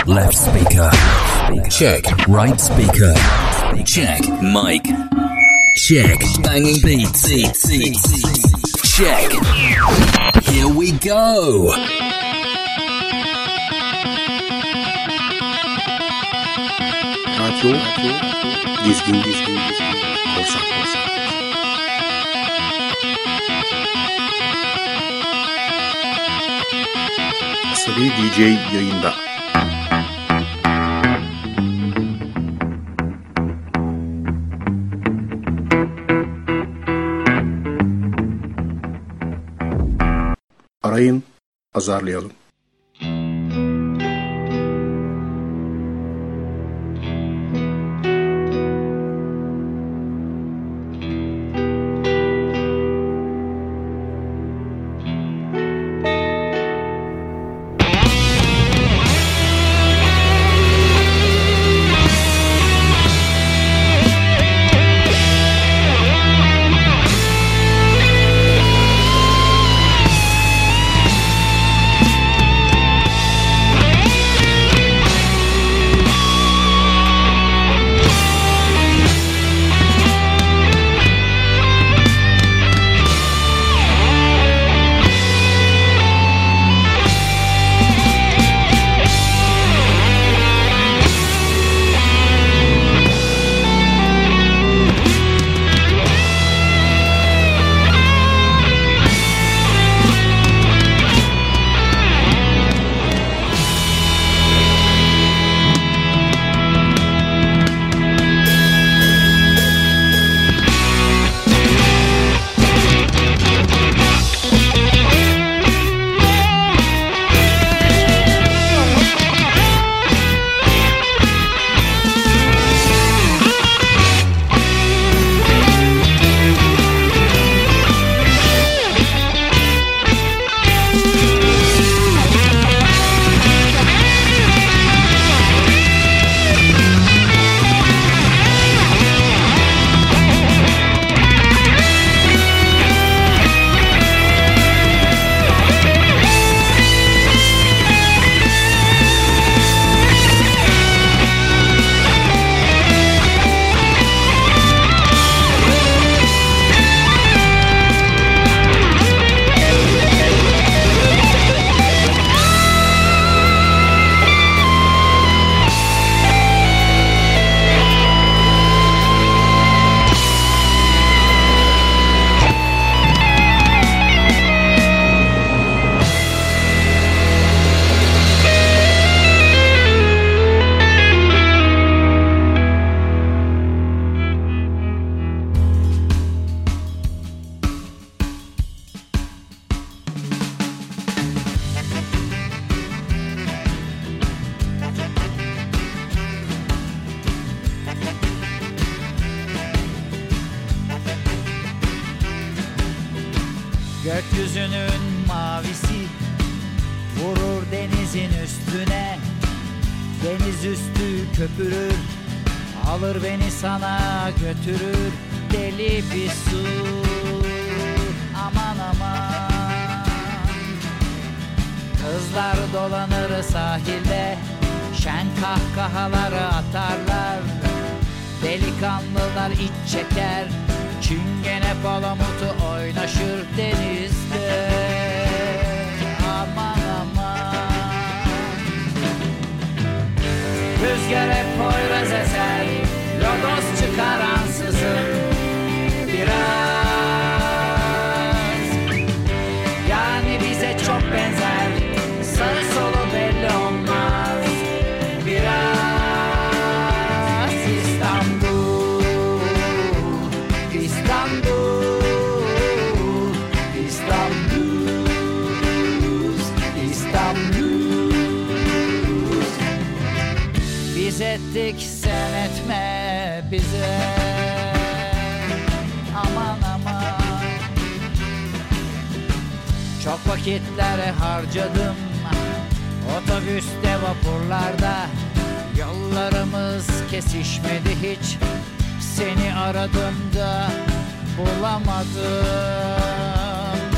Left speaker. Check. Right speaker. Check. Mic. Check. Banging beats. Check. Here we go. Radyo dizgin korsan. Asabi DJ yayında. Arayın, azarlayalım. Gökyüzünün mavisi vurur denizin üstüne. Deniz üstü köpürür, alır beni sana götürür. Deli bir su, aman aman. Kızlar dolanır sahilde, şen kahkahaları atarlar. Delikanlılar iç çeker, çingene palamutu oynaşır denizde. Aman aman. Rüzgar hep poyraz eser, lodos çıkar ansızın biraz. Yani bize çok benzer, sağı solu belli olmaz biraz. Biz ettik sen etme bize. Aman aman. Çok vakitler harcadım otobüste, vapurlarda. Yollarımız kesişmedi hiç. Seni aradım da bulamadım.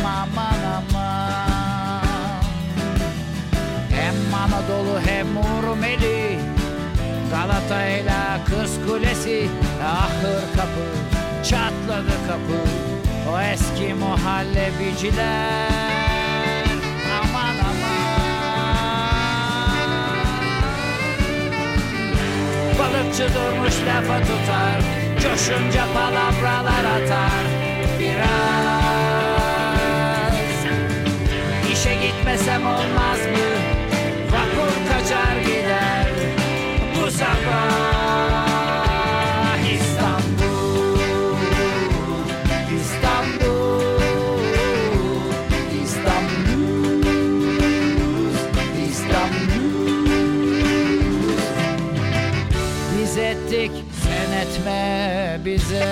Aman aman. Hem Anadolu hem Uğur Rumeli, Galata'yla Kız Kulesi, ahır kapı, çatladı kapı, o eski muhallebiciler. Aman aman. Balıkçı durmuş lafa tutar, coşunca palavralar atar. Biraz işe gitmesem olmaz mı? Vapur kaçar gider bu sabah. İstanbul, İstanbul, İstanbul, İstanbul. Biz ettik, sen etme bize.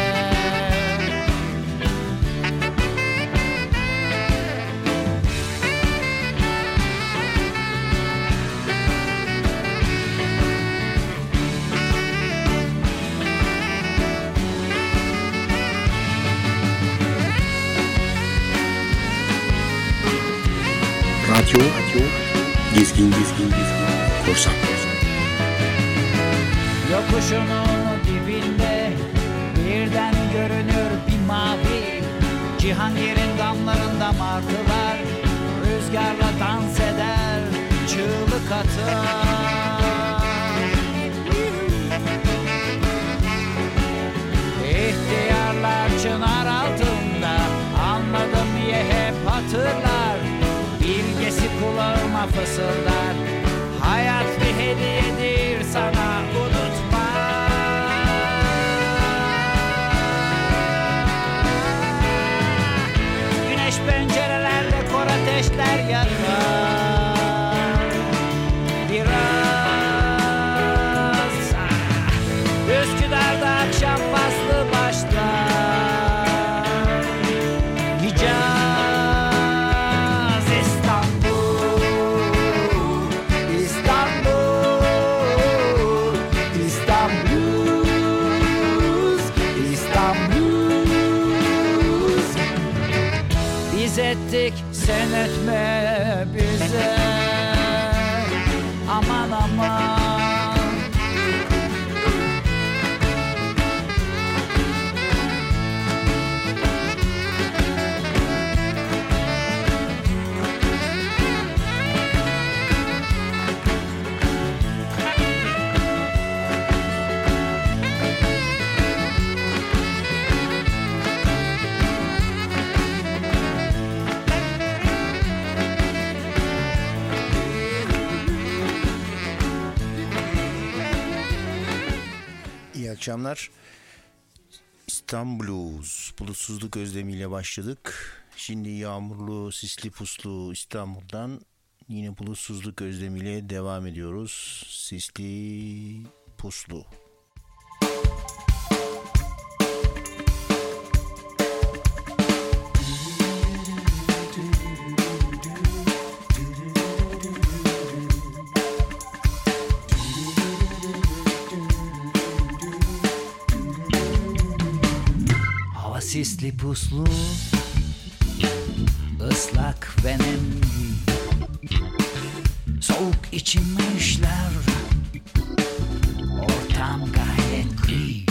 Radyo Dizgin Korsan. Yokuşunun dibinde birden görünür bir mavi, Cihangir'in damlarında martılar rüzgarla dans eder, çığlık atar. İhtiyarlar çınar altında, anladım diye hep hatırlar. Bilgesi kulağıma fısıldar, hayat bir hediyedir sana, unutma. Güneş pencerelerde kor ateşler yakar. Biraz Üsküdar'da akşam faslı başlar. Hicaz, İstanbul, İstanbul, İstanbul, İstanbul. Biz ettik, sen etme bize. Aman aman. İyi akşamlar. İstanbul'uz. Bulutsuzluk özlemiyle başladık. Şimdi yağmurlu, sisli puslu İstanbul'dan yine bulutsuzluk özlemiyle devam ediyoruz. Sisli, puslu. Sisli puslu, ıslak ve nemli, soğuk içime işler, ortam gayet gri.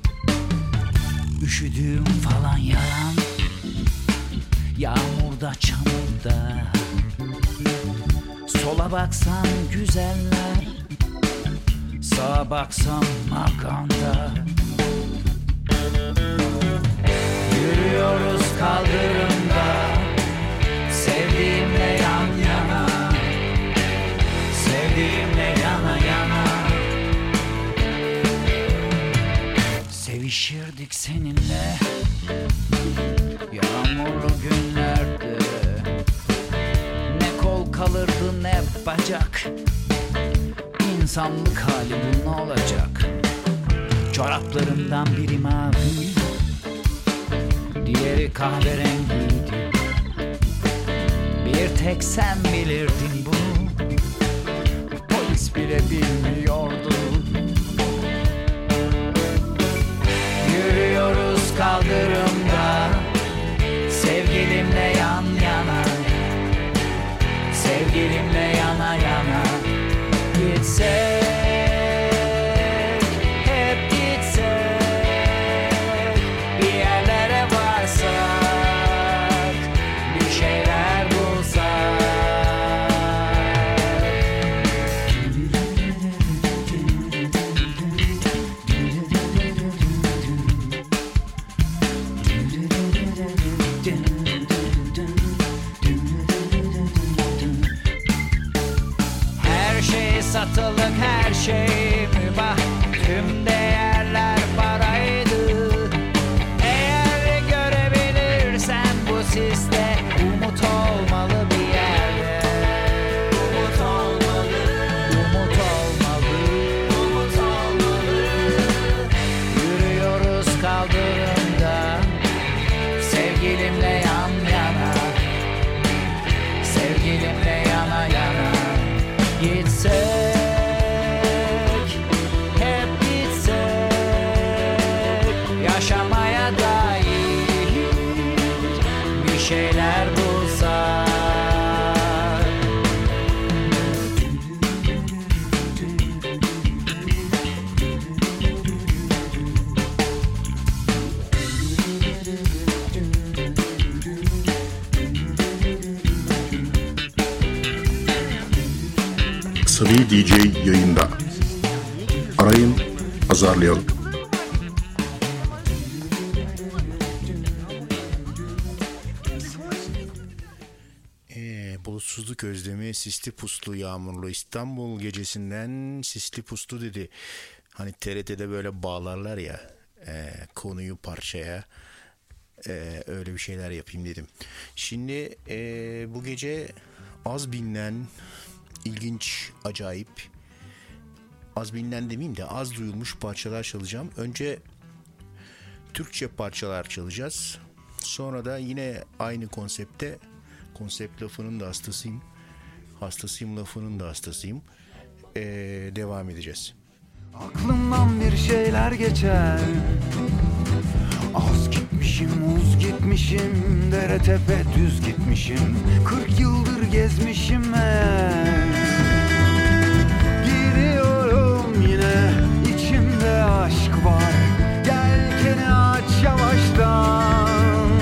Üşüdüğüm falan yalan, yağmurda çamurda. Sola baksam güzeller, sağa baksam maganda. Yürüyoruz kaldırımda, sevdiğimle yan yana, sevdiğimle yana yana. Sevişirdik seninle yağmurlu günlerde. Ne kol kalırdı ne bacak, İnsanlık hali bu ne olacak? Çoraplarımdan biri mavi, diğeri kahverengiydi. Bir tek sen bilirdin bunu, polis bile bilmiyordu. Yürüyoruz kaldırımda, sevgilimle yan yana, sevgilimle yana yana. Gitsek, hep gitsek, bir yerlere varsak, bir şeyler bulsak. Her şey satılık, her şey mübah, tüm değerler paraydı. Eğer görebilirsen bu siste, umut olmalı bir yerde. Umut olmalı, umut olmalı, umut olmalı. Yürüyoruz kaldırımda, sevgilimle yan yana, sevgilimle yana yana. Gitsek, hep gitsek, yaşamaya dair bir şeyler bulsak. Sıvı DJ yayında. Arayın, azarlayalım. Bulutsuzluk özlemi, sisli puslu yağmurlu İstanbul gecesinden sisli puslu dedi. Hani TRT'de böyle bağlarlar ya konuyu parçaya, öyle bir şeyler yapayım dedim. Şimdi bu gece az bilinen, ilginç, acayip, az bilinen demeyeyim de az duyulmuş parçalar çalacağım. Önce Türkçe parçalar çalacağız. Sonra da yine aynı konsepte, konsept lafının da hastasıyım. Hastasıyım lafının da hastasıyım. Devam edeceğiz. Aklımdan bir şeyler geçer. Az gitmişim, uz gitmişim, dere tepe düz gitmişim, 40 yıldır gezmişim meğer. Giriyorum yine, içimde aşk var, yelkeni aç yavaştan.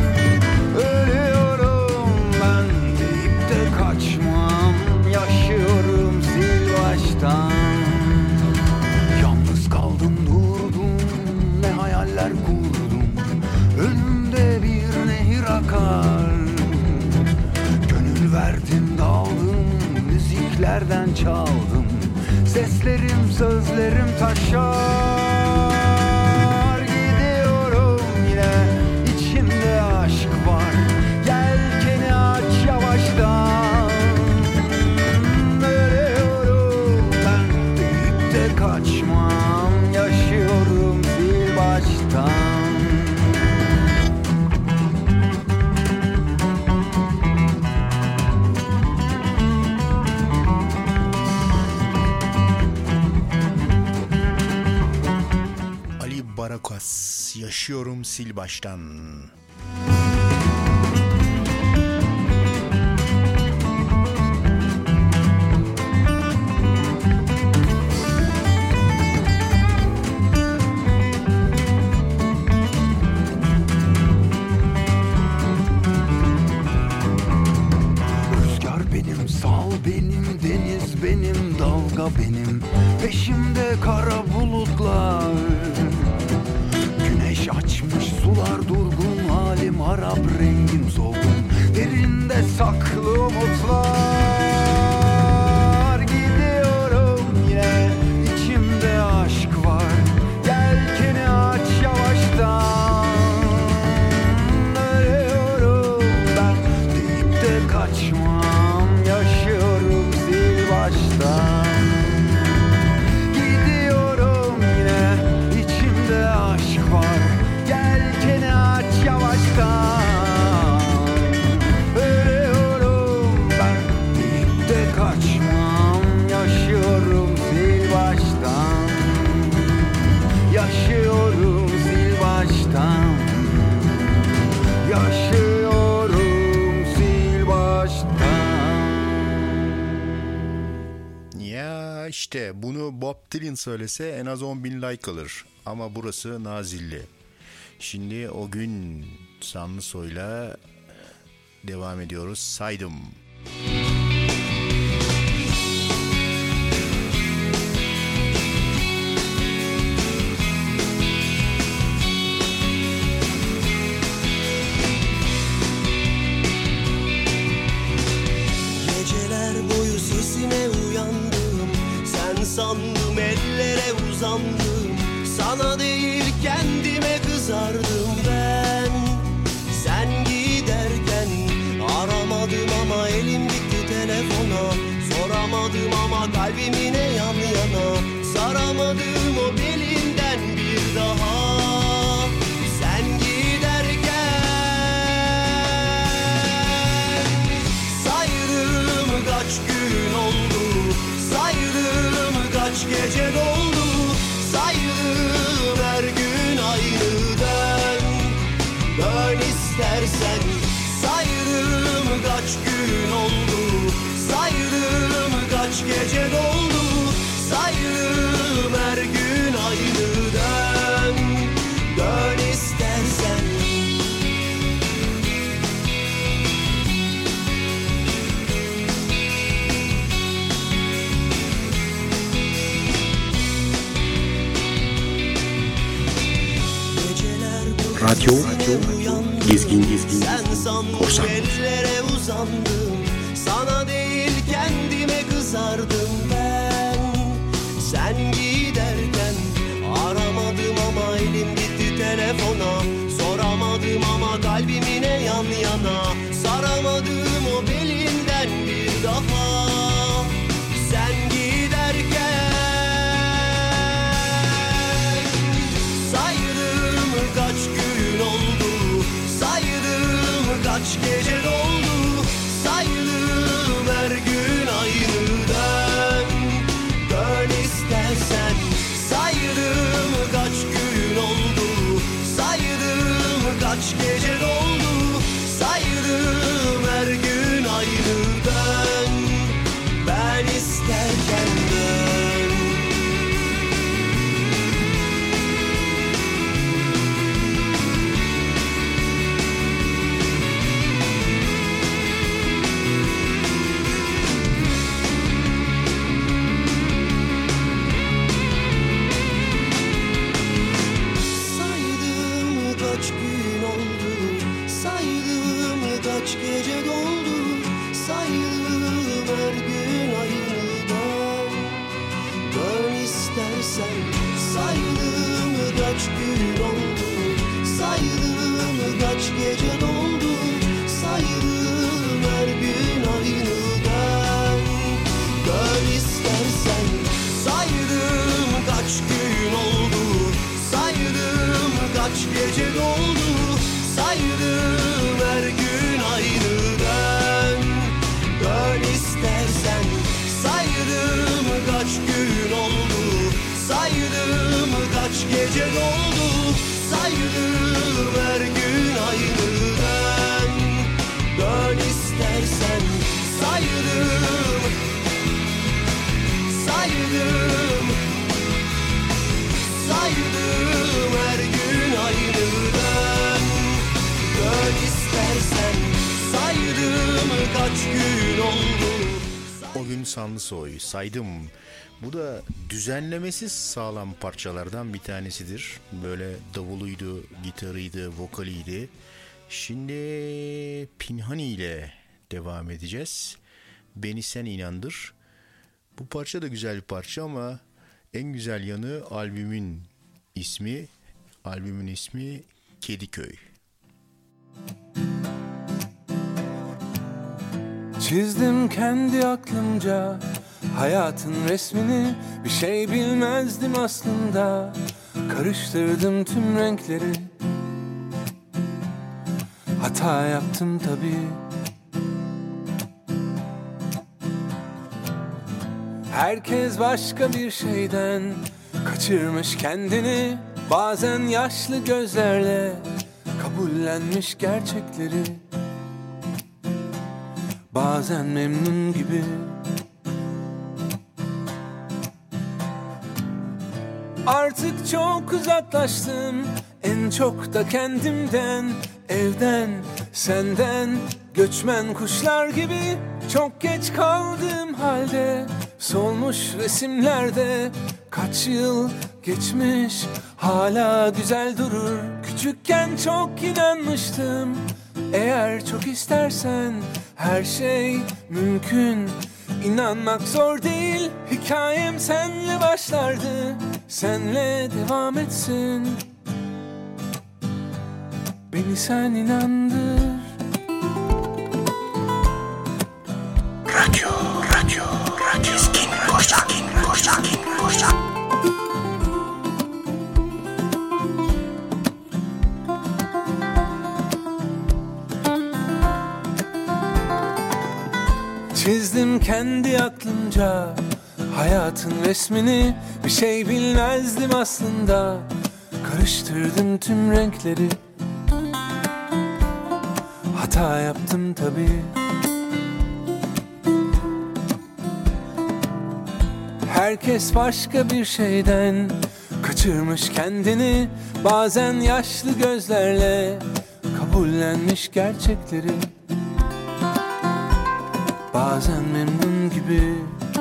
Ölüyorum ben deyip de kaçmam, yaşıyorum sil baştan. Yalnız kaldım durdum, ne hayaller kurdum, önümde bir nehir akar. Gönül verdim daldım, müziklerden çaldım, seslerim sözlerim taşar. Gidiyorum yine, içimde aşk var, yelkeni aç yavaştan. Ölüyorum ben deyip de kaçmam, yaşıyorum sil baştan. Ali Barakas, yaşıyorum sil baştan. Rüzgar benim, sal benim, deniz benim, dalga benim, peşimde kara bulutlar. Güneş açmış sular durgun, halim harap, rengim solgun, derinde saklı umutlar. Gidiyorum yine, içimde aşk var, yelkeni aç yavaştan. Ölüyorum ben deyip de kaçmam, yaşıyorum sil baştan. Gidiyorum yine, içimde aşk var, yelkeni aç yavaştan. Ölüyorum ben işte bunu Bob Dylan söylese en az 10.000 like alır. Ama burası Nazilli. Şimdi o gün Sanlısoy'la devam ediyoruz. Saydım. Sandım ellere uzandım, sana değil kendime kızardım ben. Sen giderken aramadım ama elim gitti telefona. Soramadım ama kalbim yine yan yana. Saramadım o belinden bir daha. Sen giderken saydım kaç gün oldu, saydım kaç gece doldu, saydım her gün aynı dön. Dön istersen, saydım kaç gün oldu, saydım kaç gece doldu, saydım her gün aynı dön. Dön istersen. Radyo Gezgin Korsan. Ellere uzandım, sana değil kendime kızardım ben. Sen giderken aramadım ama elim gitti telefona. Soramadım ama kalbim yine yan yana. Saramadım o belinden bir daha. Sen giderken saydım kaç gün oldu, saydım kaç gece doldu, saydım her gün aynı dön. Dön istersen, saydım kaç gün oldu, saydım kaç gece doldu, saydım her gün aynı dön. Ben isterken dön. Saydım kaç gün oldu, saydım kaç gece doldu, saydım her gün aynı dön. Dön istersen, saydım kaç gün oldu, saydım kaç gece doldu, saydım her gün aynı dön. Dön istersen, saydım kaç gün oldu, saydım kaç gece doldu, saydım her gün aynı dön. Dön istersen, saydım kaç gün oldu, saydım kaç gece doldu, saydım her gün aynı dön. Dön istersen, saydım, saydım, saydım her gün aynı dön. Dön istersen, saydım kaç gün oldu. O gün Sanlısoy saydım. Bu da düzenlemesiz sağlam parçalardan bir tanesidir. Böyle davuluydu, gitarıydı, vokaliydi. Şimdi Pinhani ile devam edeceğiz. Beni Sen İnandır. Bu parça da güzel bir parça ama en güzel yanı albümün ismi. Albümün ismi Kediköy. Çizdim kendi aklımca hayatın resmini, bir şey bilmezdim aslında. Karıştırdım tüm renkleri, hata yaptım tabii. Herkes başka bir şeyden kaçırmış kendini, bazen yaşlı gözlerle kabullenmiş gerçekleri, bazen memnun gibi. Artık çok uzaklaştım, en çok da kendimden, evden, senden. Göçmen kuşlar gibi çok geç kaldığım halde, solmuş resimlerde kaç yıl geçmiş, hala güzel durur. Küçükken çok inanmıştım, eğer çok istersen her şey mümkün. İnanmak zor değil, hikayem senle başlardı, senle devam etsin. Beni sen inandır. Radyo Gezgin Korsan. Çizdim kendi aklımca hayatın resmini, bir şey bilmezdim aslında. Karıştırdım tüm renkleri, hata yaptım tabii. Herkes başka bir şeyden kaçırmış kendini, bazen yaşlı gözlerle kabullenmiş gerçekleri, bazen memnun gibi.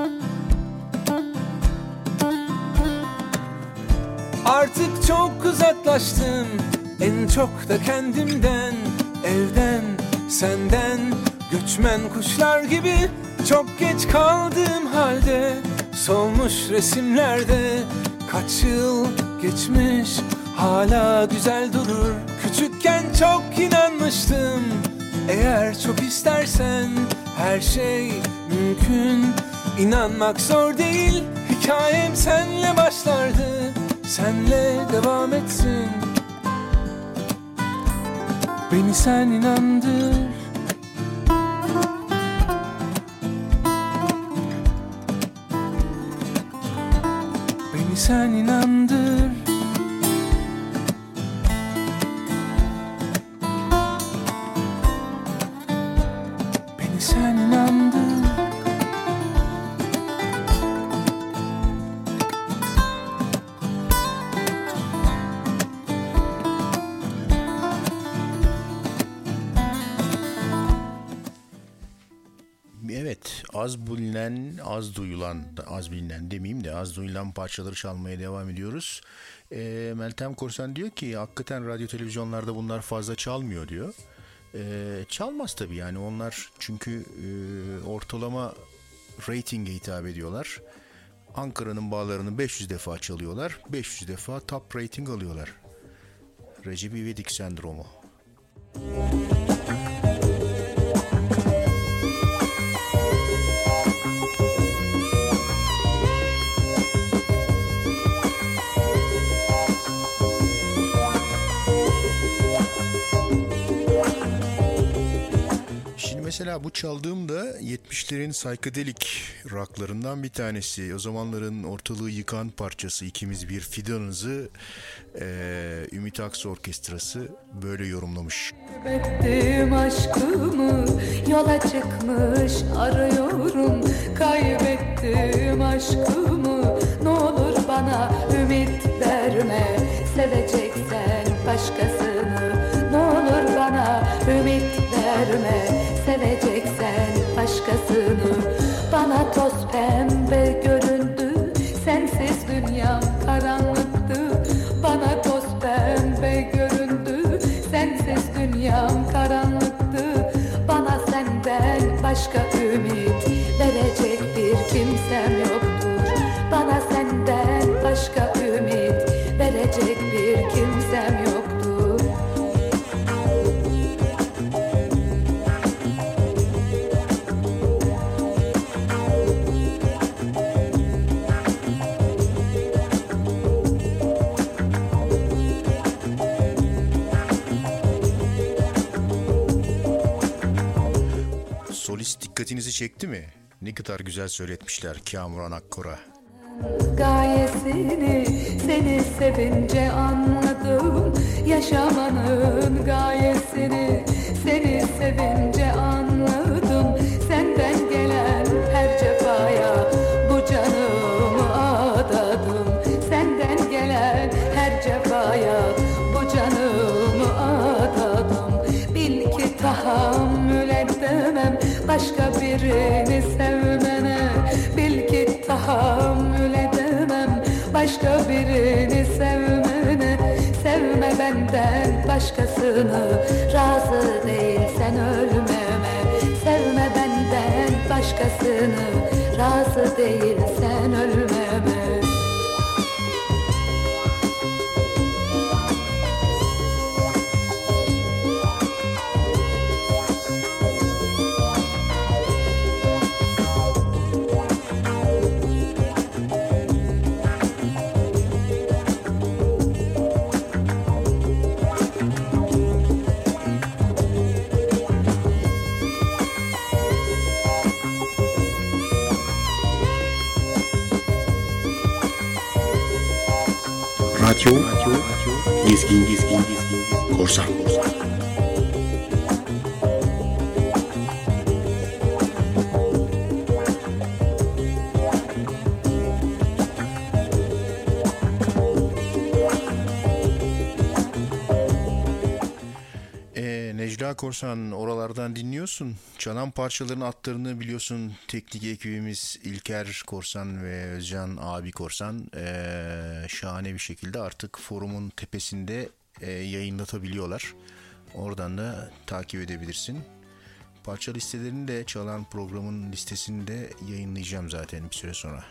Artık çok uzaklaştım, en çok da kendimden, evden, senden. Göçmen kuşlar gibi çok geç kaldığım halde, solmuş resimlerde kaç yıl geçmiş, hala güzel durur. Küçükken çok inanmıştım, eğer çok istersen her şey mümkün. İnanmak zor değil, hikayem senle başlardı, senle devam etsin. Beni sen inandır. Beni sen inandır. Beni sen inandır. Evet, az bilinen, az duyulan, az bilinen demeyeyim de az duyulan parçaları çalmaya devam ediyoruz. Meltem Korsan diyor ki hakikaten radyo televizyonlarda bunlar fazla çalmıyor diyor. Çalmaz tabii yani onlar çünkü ortalama ratinge hitap ediyorlar. Ankara'nın bağlarını 500 defa çalıyorlar, 500 defa top rating alıyorlar. Recep İvedik sendromu. Mesela bu çaldığım da 70'lerin psychedelic rocklarından bir tanesi. O zamanların ortalığı yıkan parçası İkimiz Bir Fidanız'ı Ümit Aksu Orkestrası böyle yorumlamış. Kaybettim aşkımı, yola çıkmış arıyorum. Kaybettim aşkımı, ne olur bana ümit verme. Seveceksen başkasını, ne olur bana ümit verme. Seveceksen başkasını. Bana toz pembe göründü, sensiz dünyam karanlıktı. Bana toz pembe göründü, sensiz dünyam karanlıktı. Bana senden başka ümit verecek bir kimsem yoktur. Bana senden başka ümit verecek bir kimsem yoktur. Solist dikkatinizi çekti mi? Ne kadar güzel söyletmişler Kamuran Akkora. Gayesini seni sevince anladım. Yaşamanın gayesini seni sevince anladım. Senden gelen her cefaya bu canımı adadım. Senden gelen seni sevmene. Sevme benden başkasını, razı değilsen ölmeme. Sevme benden başkasını, razı değilsen ölmeme. Radyo Gezgin Korsan. Necla Korsan, oralardan dinliyorsun. Çalan parçaların adlarını biliyorsun. Teknik ekibimiz İlker Korsan ve Özcan abi Korsan şahane bir şekilde artık forumun tepesinde yayınlatabiliyorlar. Oradan da takip edebilirsin. Parça listelerini de çalan programın listesinde yayınlayacağım zaten bir süre sonra.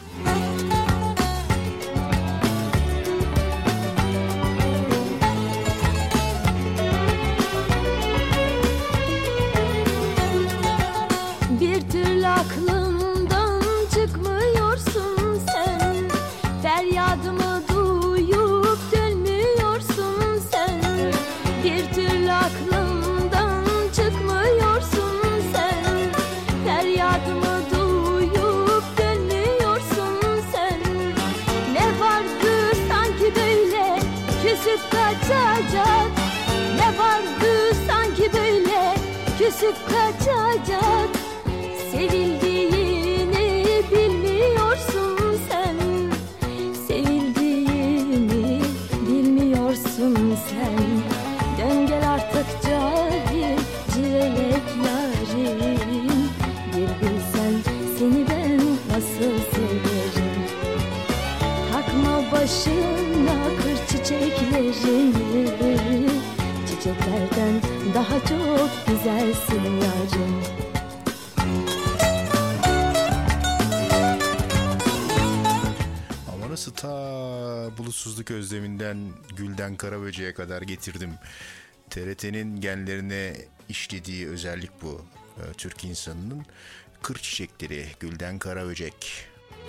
Aklımdan çıkmıyorsun sen, feryadımı duyup dönmüyorsun sen. Bir türlü aklımdan çıkmıyorsun sen, feryadımı duyup dönmüyorsun sen. Ne vardı sanki böyle küsüp kaçacak, ne vardı sanki böyle küsüp kaçacak. Sevildiğini bilmiyorsun sen, sevildiğini bilmiyorsun sen. Dön gel artık cahil, civelek yarim. Bir bilsen seni ben nasıl severim. Takma başına kır çiçeklerini, çiçeklerden daha çok güzelsin yarim. Nasıl ta bulutsuzluk özleminden Gülden Karaböcek'e kadar getirdim. TRT'nin genlerine işlediği özellik bu. Türk insanının kır çiçekleri, Gülden Karaböcek.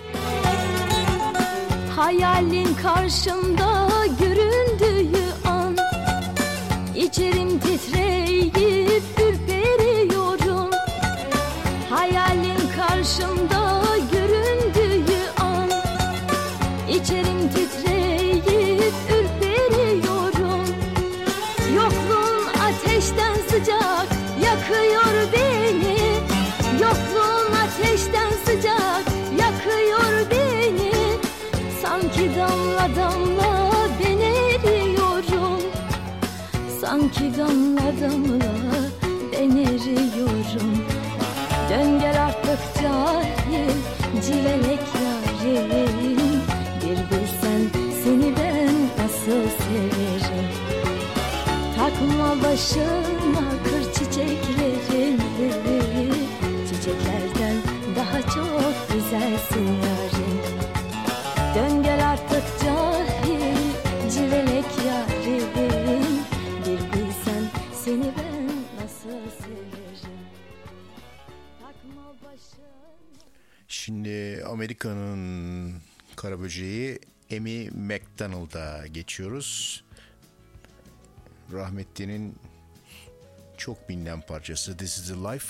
Hayalin karşımda göründüğü an, İçerim titreyip ürperiyorum. Hayalin karşımda göründüğü an, İçerim titreyip ürperiyorum. Yokluğun ateşten sıcak yakıyor beni. Yokluğun ateşten sıcak yakıyor beni. Sanki damla damla ben eriyorum. Sanki damla damla ben eriyorum. Dön gel artık cahil, civelek yarim. Bir bilsen seni ben nasıl severim. Takma başına kır çiçeklerini, çiçeklerden daha çok güzelsin yarim. Dön gel artık cahil, civelek yarim. Bir bilsen seni ben nasıl severim. Takma başına. Şimdi Amerika'nın Karaböceği Amy Macdonald'a geçiyoruz. Rahmetli'nin çok bilinen parçası This Is The Life.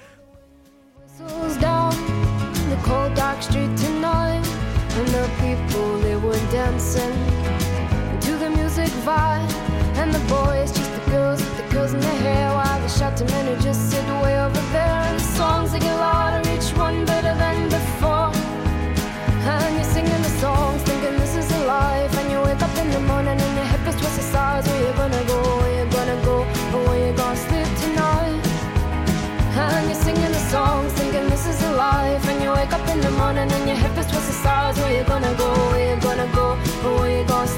Down the cold dark street tonight, and the people they were dancing to the music vibe, and the boys just the girls with the girls in their hair, while the shouting men who just sit way over there. And the songs they get louder, each one better than before. And you're singing the songs, thinking this is a life. And you wake up in the morning and your hip is twisted sides. Where you gonna go? Where you gonna go? Or where you gonna sleep tonight? And you're singing the songs, thinking this is a life. And you wake up in the morning and your hip is twisted sides. Where you gonna go? Where you gonna go? Or where you gonna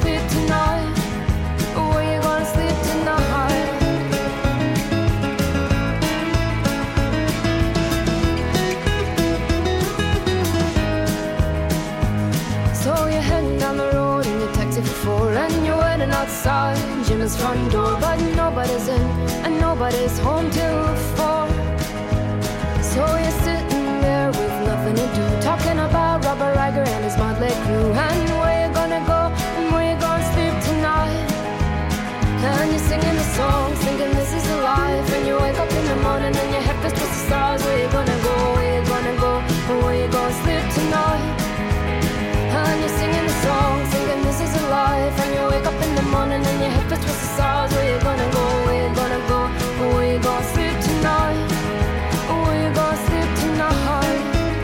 empty for 4 and you're waiting outside Jimmy's front door, but nobody's in and nobody's home till 4. So you're sitting there with nothing to do, talking about Robert Riger and his motley crew, and where you gonna go and where you gonna sleep tonight. And you're singing the song, thinking this is a life, and you wake up in the morning and your head feels towards the stars. Where you gonna go, where you gonna go, and where you gonna sleep tonight. And you're singing the song, thinking this is a life, and you wake up in the morning and your head feels towards the stars. Where you gonna go, where you gonna go, and where you gonna sleep tonight. Where you gonna sleep tonight.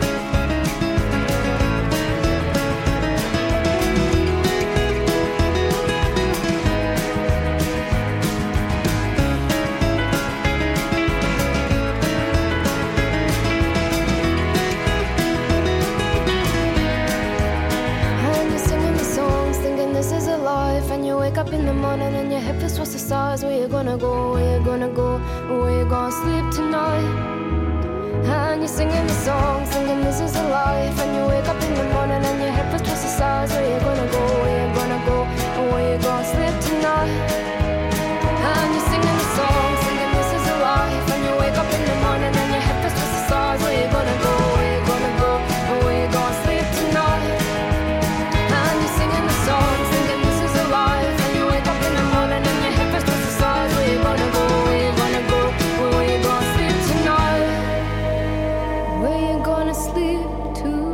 And you wake up in the morning and your head feels towards the stars. Where you gonna go, where you gonna go, where you gonna sleep tonight. And you're singing the song, thinking this is a life, and you wake up in the morning and your head feels towards the stars. Where you gonna go, where you gonna go, where you gonna sleep tonight. And you're singing the song, thinking this is a life, and you wake up in the morning and your head feels towards the stars. Where you gonna go, where you gonna go, where you gonna sleep tonight. And you're singing the song, thinking this is a life, and you wake up in the morning and your head feels towards the stars. Where you gonna go, where you gonna go, where you gonna sleep tonight. Where you gonna sleep tonight.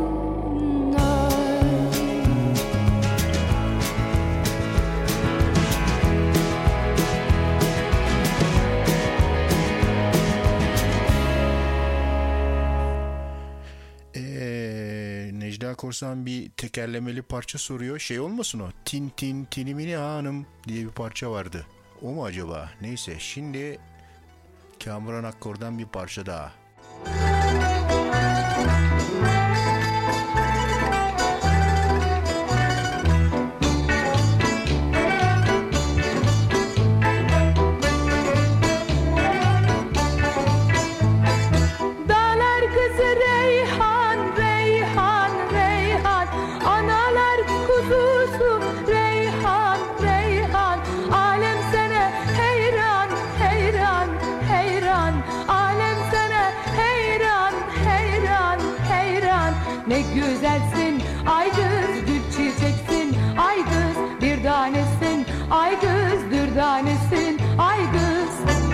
Necda Korsan bir tekerlemeli parça soruyor. Şey olmasın o? Tin tin tinimini hanım diye bir parça vardı. O mu acaba? Neyse, şimdi Kamuran Akkor'dan bir parça daha. Dağlar kızı Reyhan, Reyhan, Reyhan. Analar kuzusu Reyhan, Reyhan. Alem sana heyran, heyran, heyran. Alem sana heyran, heyran, heyran. Ne güzelsin ay kız, gül çiçeksin ay kız, bir tanesin ay kız, bir tanesin ay kız.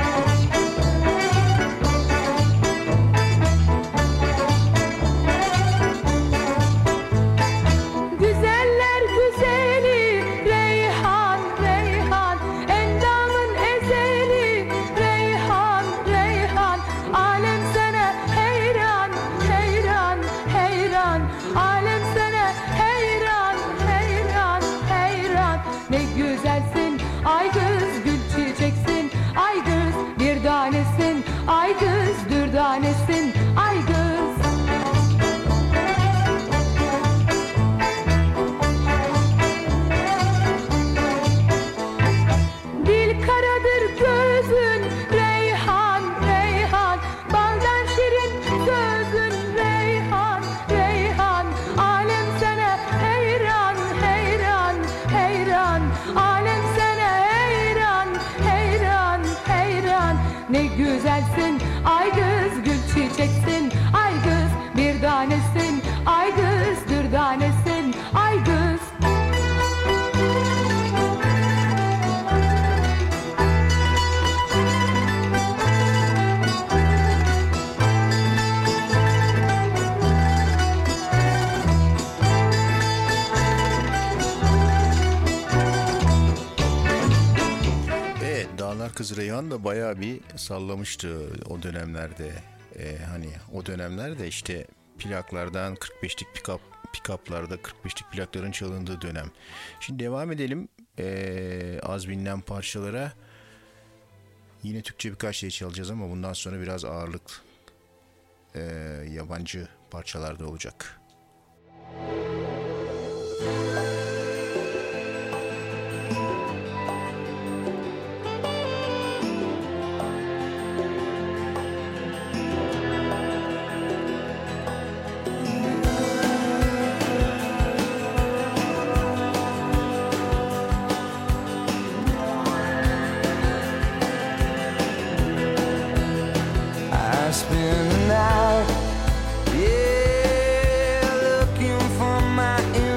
Güzeller güzeli Reyhan, Reyhan. Endamın ezeli Reyhan, Reyhan. Alem sana heyran, heyran, heyran. Alem sana heyran, heyran, heyran. Ne güzelsin ay kız, gül çiçeksin ay kız, bir tanesin ay kız, bir tanesin ay kız. Dil karadır gözün Reyhan, Reyhan. Baldan şirin sözün Reyhan, Reyhan. Alem sana heyran, heyran, heyran. Alem sana heyran, heyran, heyran. Ne güzelsin ay kız, gül çiçeksin ay kız, bir tanesin ay kız, bir tanesin ay kız. Dağlar Kızı Reyhan da bayağı bir sallamıştı o dönemlerde. Hani o dönemlerde işte plaklardan 45'lik pick-up'larda 45'lik plakların çalındığı dönem. Şimdi devam edelim az bilinen parçalara. Yine Türkçe birkaç şey çalacağız ama bundan sonra biraz ağırlık yabancı parçalarda olacak.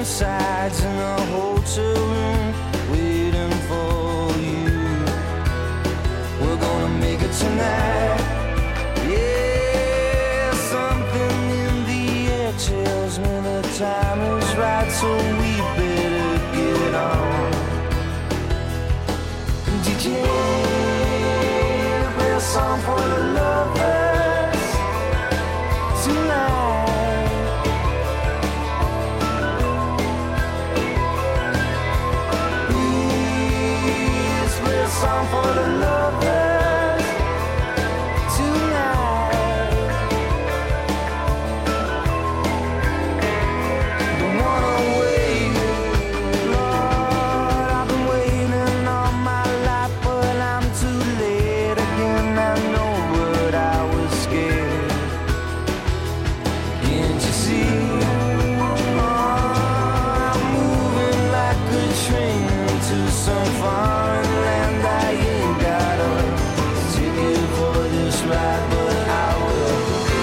sides in a hotel room waiting for you. We're gonna make it tonight. Yeah, something in the air tells me the time is right, so we better get on. DJ, play a song for the lovers tonight. Please play a song for the lovers tonight. Don't wanna wait, Lord, I've been waiting all my life, but I'm too late again. I know, but I was scared. Can't you see? I'm moving like a train to some foreign land. I ain't got a ticket for this ride, but I will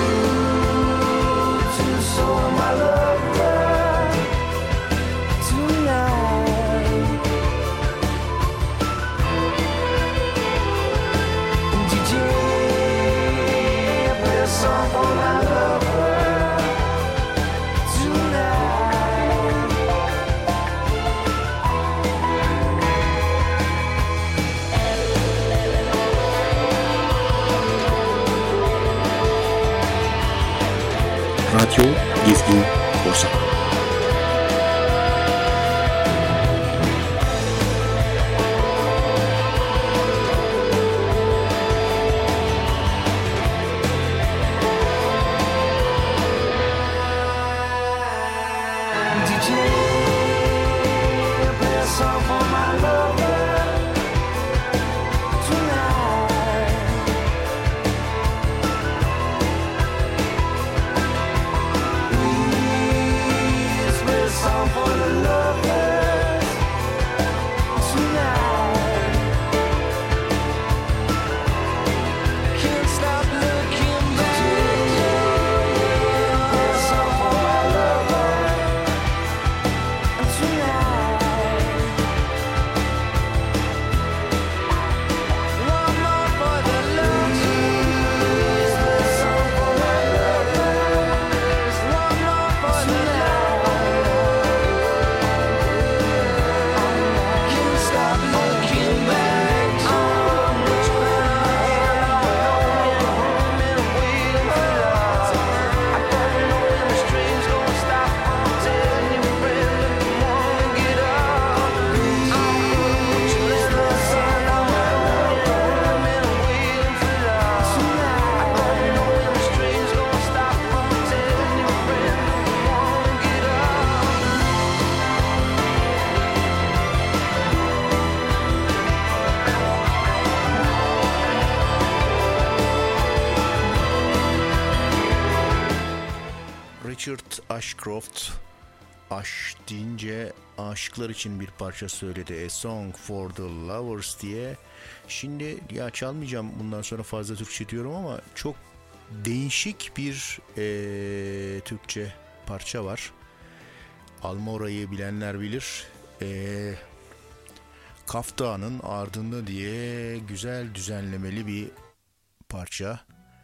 to show my lover tonight. DJ, play a song for my lover tonight. Radyo Gezgin Korsan. DJ, play a song for my lover tonight. Please play a song for the lovers tonight. Can't stop looking back. Play a song for my lover tonight. One more for the lovers. Play a song for my lovers. One more for the lovers. Can't stop looking back. So much and waiting for love. I don't know when the stream's gonna stop. Telling your friend if you wanna get up. Put your lips in the sun. I'm waiting for love. I don't know when the stream's gonna stop. Telling your friend if you wanna get up. Richard Ashcroft aşk deyince aşıklar için bir parça söyledi. A Song for the Lovers diye. Şimdi ya çalmayacağım bundan sonra, fazla Türkçe diyorum ama çok değişik bir Türkçe parça var. Almora'yı bilenler bilir. Kaf Dağı'nın ardında diye güzel düzenlemeli bir parça.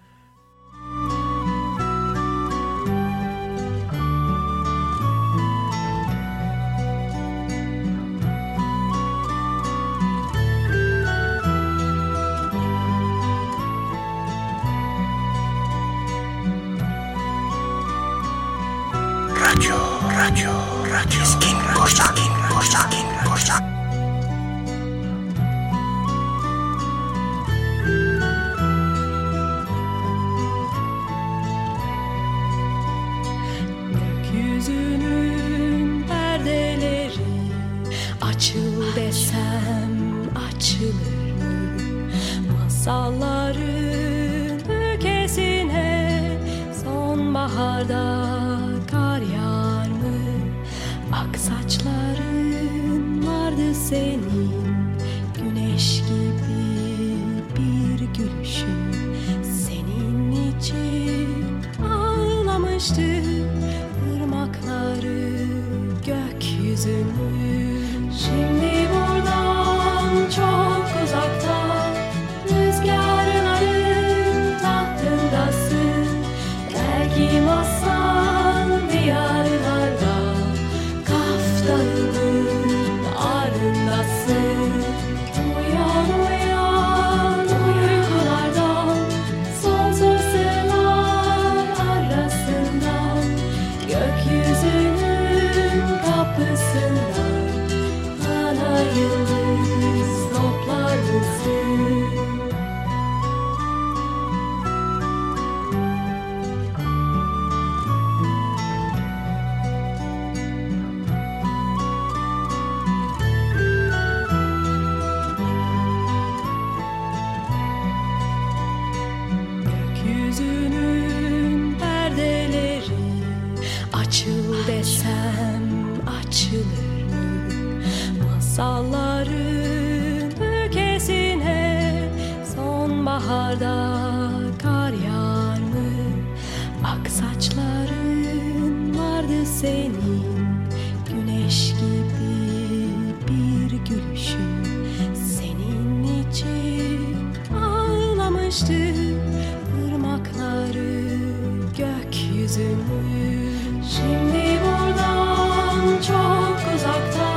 Radyo Gezgin Korsan. Gökyüzünün perdeleri açıl desem açılır mı? Masalların ülkesine sonbaharda kar yağar mı? Ak saçların vardı senin, güneş gibi bir gülüşün. Senin için ağlamıştı ırmakları gök gökyüzünü. Şimdi buradan çok uzakta, rüzgarların tahtındasın. Belki masal diyarlarda, Kaf Dağı'nın ardındasın. Uyan uyan uykulardan, sonsuz sırlar arasından, gökyüzünün kapısından bana yıldız toplar mısın? Gökyüzünün perdeleri açıl desem açılır mı? Masalların ülkesine sonbaharda kar yağar mı? Ak saçların vardı senin, güneş gibi bir gülüşün. Senin için ağlamıştı ırmakları, gökyüzünü. Şimdi buradan çok uzakta,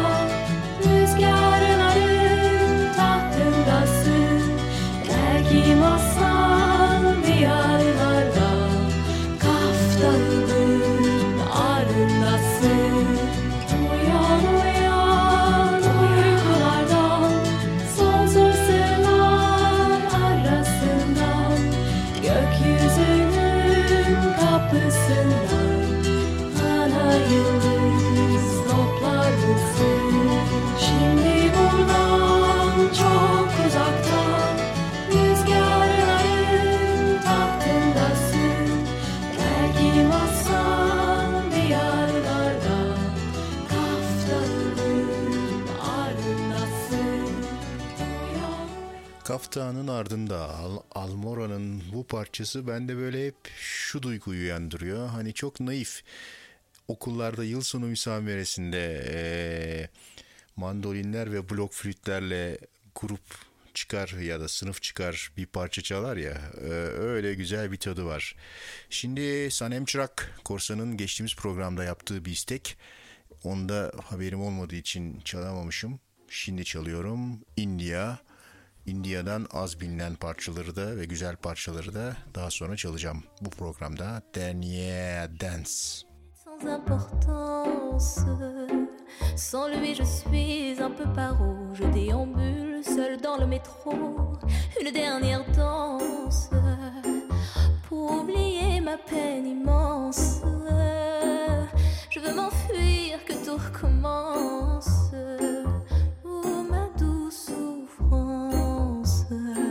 rüzgarların tahtındasın. Belki masal diyarlarda, Kaf Dağı'nın ardındasın. Uyan uyan uykulardan, sonsuz sırlar arasından, gökyüzünün kapısından bana yıldız toplar mısın? Şimdi buradan çok uzakta, rüzgarların tahtındasın. Belki masal diyarlarda, Kaf Dağı'nın ardındasın. Uyan. Kaf Dağı'nın ardında Almora'nın bu parçası bende böyle hep şu duyguyu uyandırıyor. Hani çok naif. Okullarda yıl sonu müsameresinde mandolinler ve blok flütlerle grup çıkar ya da sınıf çıkar bir parça çalar ya, öyle güzel bir tadı var. Şimdi Sanem Çırak Korsan'ın geçtiğimiz programda yaptığı bir istek. Onda haberim olmadığı için çalamamışım. Şimdi çalıyorum. India'dan az bilinen parçaları da ve güzel parçaları da daha sonra çalacağım bu programda. Dernier Dance. Sans importance, sans lui je suis un peu paro. Je déambule seul dans le métro, une dernière danse pour oublier ma peine immense. Je veux m'enfuir, que tout recommence. Oh ma douce souffrance.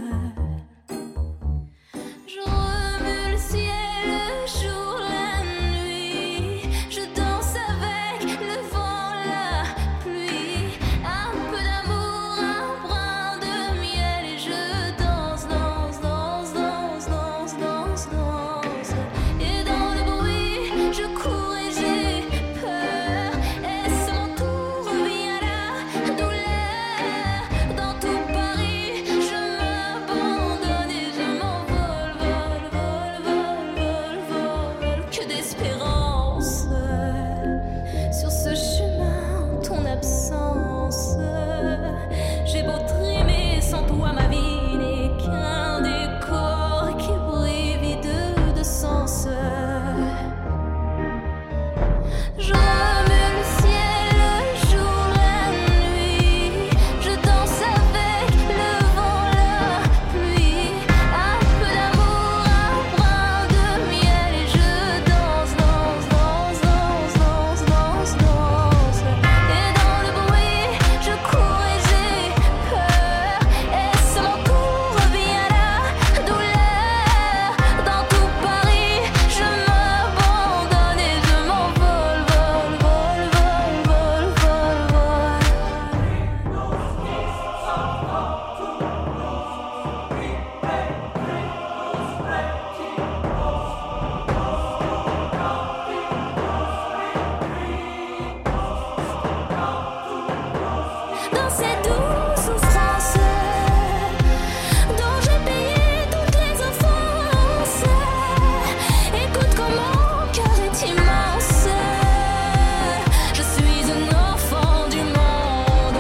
Je remue le ciel, le jour, la nuit. Je danse avec le vent, la pluie. Un peu d'amour, un brin de miel. Et je danse, danse, danse, danse, danse, danse, danse. Et dans le bruit, je cours et j'ai peur. Et c'est mon ces douces souffrances dont j'ai payé toutes les offenses. Écoute comme mon cœur est immense. Je suis un enfant du monde.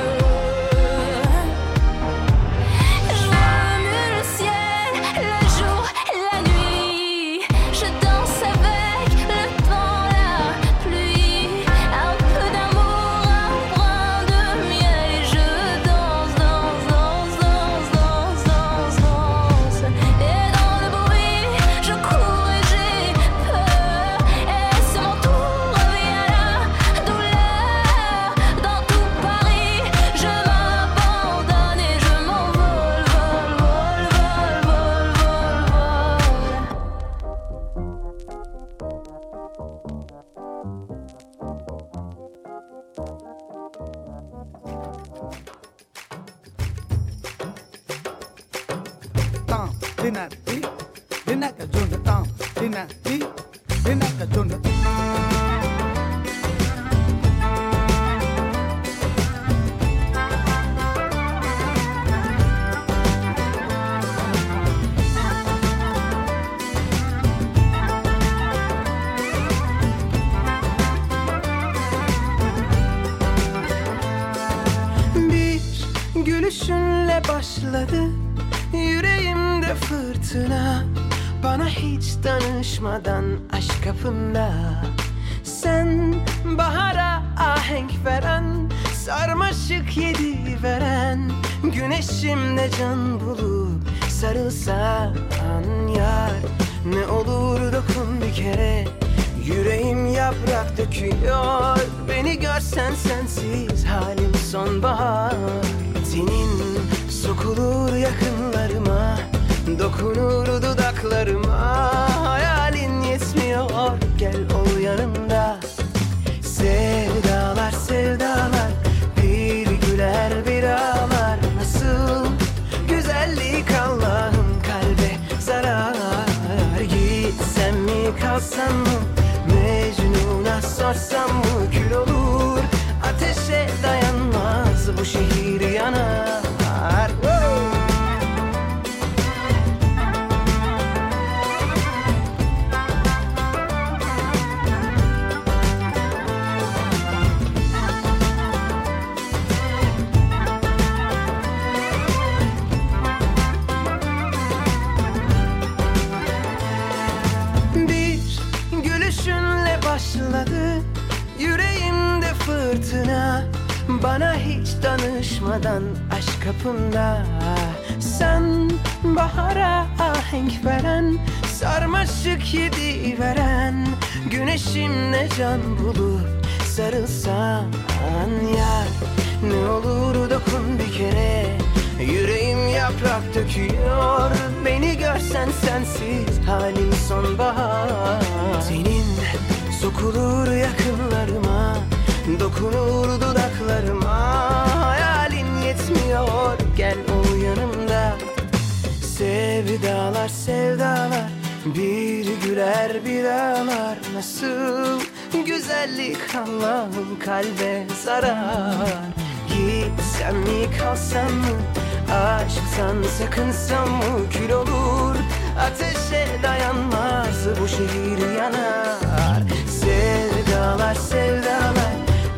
Je remue le ciel, le jour, la nuit. Je danse avec le vent, la pluie. Un peu d'amour, un brin de miel. Et je danse, danse, danse, danse, danse, danse, danse. Et dans le bruit, je cours et j'ai peur. Et c'est mon tour, vient la douleur. Dans tout Paris, je m'abandonne et je m'envole, vol, vol, vol, vol, vol, vol. Tam dinati dinaka junda tam dinati dinaka junda. Bir gülüşünle başladı yüreğimde fırtına. Bana hiç danışmadan aşk kapında. Sen bahara ahenk veren, sarmaşık yedi veren, güneşimle can bulup sarılsan yar. Ne olur dokun bir kere, yüreğim yaprak döküyor. Beni görsen sensiz halim sonbahar. Senin sokulur yakınlarıma, dokunur dudaklarıma. Hayalin yetmiyor, gel ol yanımda. Sevdalar sevdalar, bir güler bir ağlar. Nasıl güzellik Allah'ım kalbe zarar. Gitsem mi kalsam mı, Mecnun'a sorsam mı, kül olur. Ateşe dayanmaz bu şehir yanar. Bir gülüşünle başladı yüreğimde fırtına. Bana hiç danışmadan aşk kapında. Sen bahara ahenk veren, sarmaşık yedi veren, güneşimle can bulup sarılsan yar. Ne olur dokun bir kere, yüreğim yaprak döküyor. Beni görsen sensiz halim sonbahar. Senin sokulur yakınlarıma, dokunur dudaklarıma. Hayalin yetmiyor, gel ol yanımda. Sevdalar sevdalar, bir güler bir ağlar. Nasıl güzellik Allah'ım kalbe zarar. Gitsem mi kalsam mı, aşktan sakınsam mı, kül olur. Ateşe dayanmaz bu şehir yanar. Sevdalar sevdalar.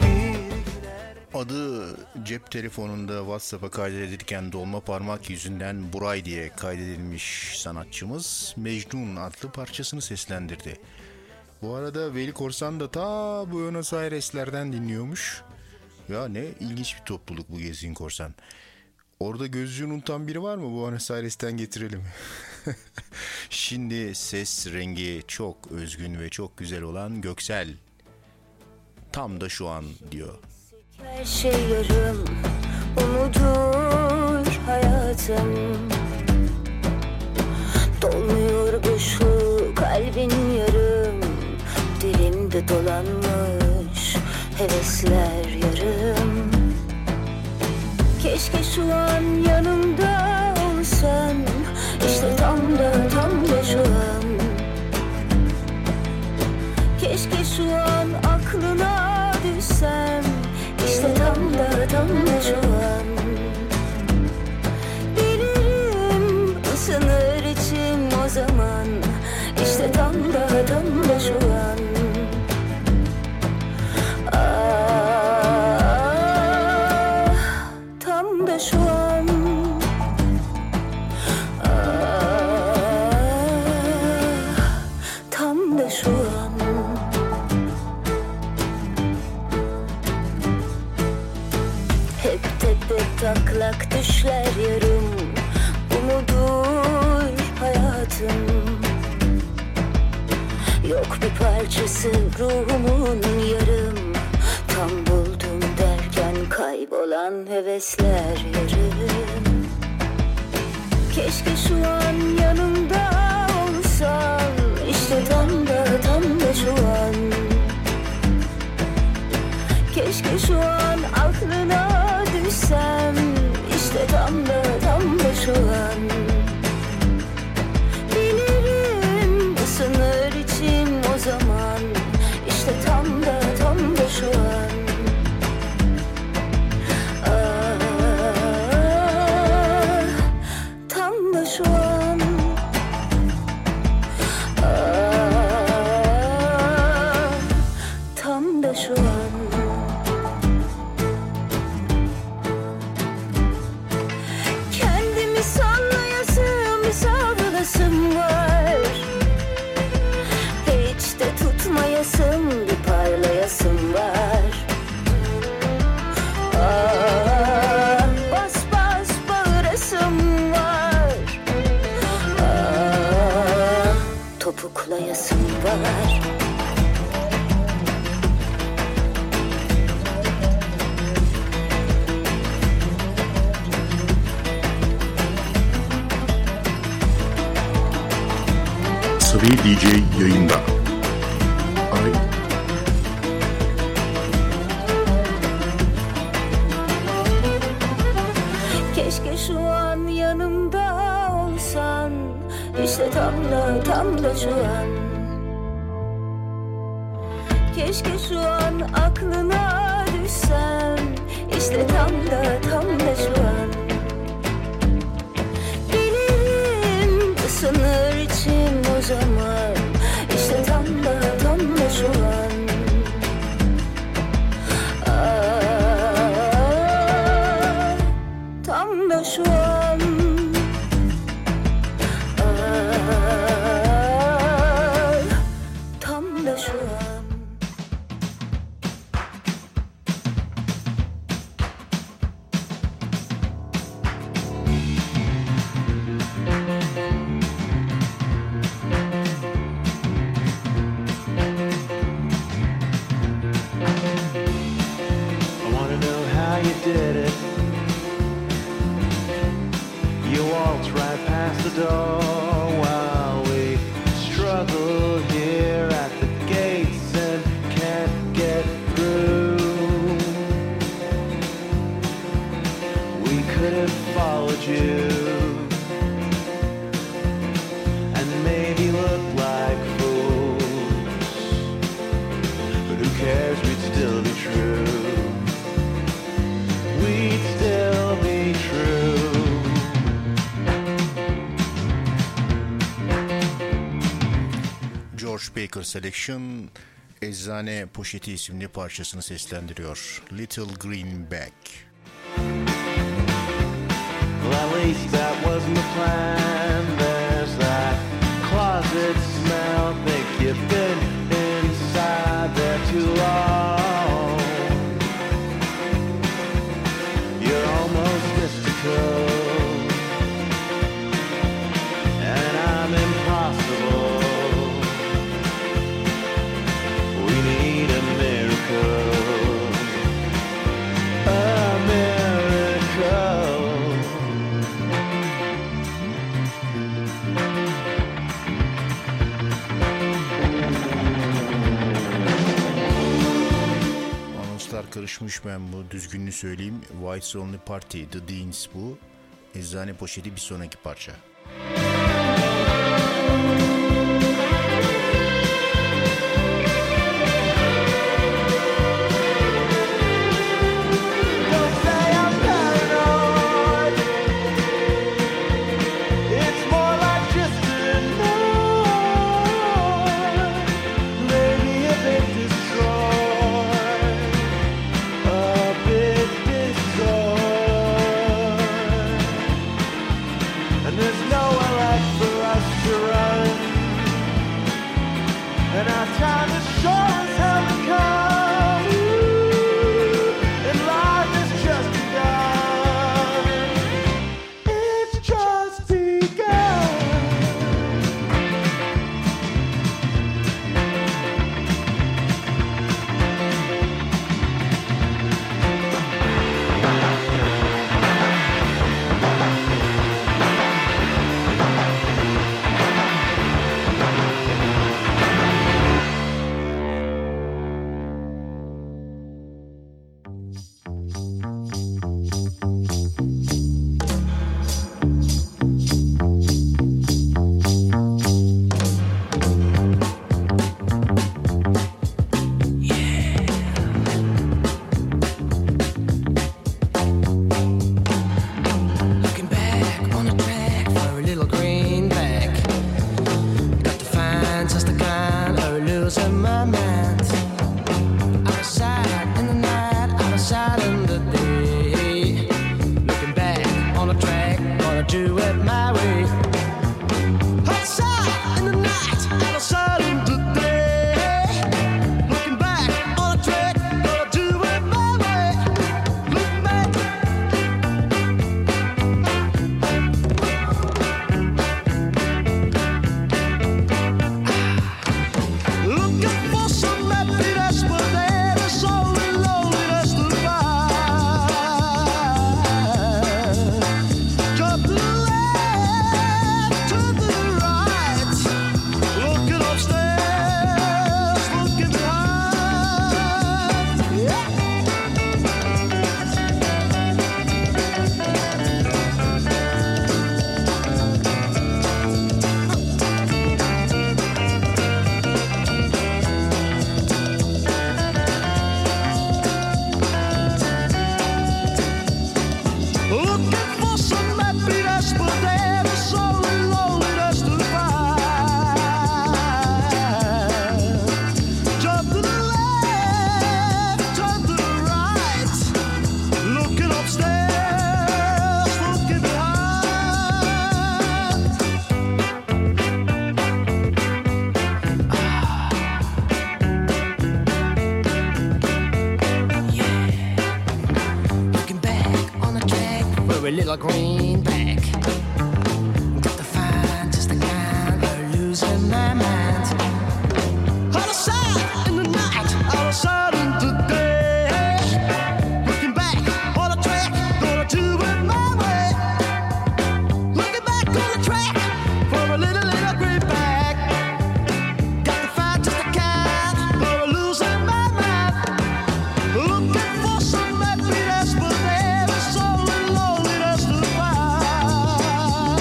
Adı cep telefonunda WhatsApp'a kaydedilirken dolma parmak yüzünden Buray diye kaydedilmiş sanatçımız Mecnun adlı parçasını seslendirdi. Bu arada Veli Korsan da ta Buenos Aires'lerden dinliyormuş. Ya ne ilginç bir topluluk bu Gezgin Korsan. Orada gözlüğünü unutan biri var mı? Buenos Aires'ten getirelim. Şimdi ses rengi çok özgün ve çok güzel olan Göksel. Tam da şu an diyor. Her şey yarım, unutur hayatım. Dolmuyor boşluk, kalbin yarım. Dilimde dolanmış hevesler yarım. Keşke şu an yanımda olsan, işte tam da şu an. Keşke şu an aklına düşsem, İşte tam da şu an. Hep tepe taklak düşler yarım. Umudur hayatım. Yok bir parçası ruhumun yarım. Tam buldum derken kaybolan hevesler yarım. Keşke şu an yanımda olsan. İşte tam da şu an. Keşke şu an aklına düşsem. İşte tam da şu an. Bilirim ısınır içim o zaman. İşte tam da şu an. Tam da şu an. Tam da şu an. Kendimi sallayasım, savrulasım var. Hiç de tutmayasım, bir parlayasım var. Bas bas bağırasım var. Topuklayasım var. Sabi DJ yayında. Ay. Keşke şu an yanımda olsan. İşte tam da şu an. Keşke şu an aklına düşsem. İşte tam da şu an. Bilirim ısınır içim o zaman. İşte tam da şu an. Tam da şu an. Tam da şu an. I wanna know how you did it. You waltz right past the door while we struggle here at the gates and can't get through. We could have followed you and maybe looked like fools, but who cares, we'd still be true. We'd still be true. George Baker Selection Eczane Poşeti isimli parçasını seslendiriyor. Little Greenback. Well, at least that wasn't the plan. There's that closet smell. Think you've been inside there too long. You're almost mystical, and I'm impossible. We need a miracle. A miracle. Anonslar karışmış, ben bu düzgününü söyleyeyim. White's Only Party, The Deans bu. Eczane Poşeti bir sonraki parça. And there's nowhere left for us to run. for a little greenback. Got to find just the kind of losing my mind. Out of sight in the night, out of sight in the day. Looking back on the track, gonna do it my way. Looking back on the track for a little greenback. Got to find just the kind of losing my mind. Looking for some happiness, but there is only loneliness to find.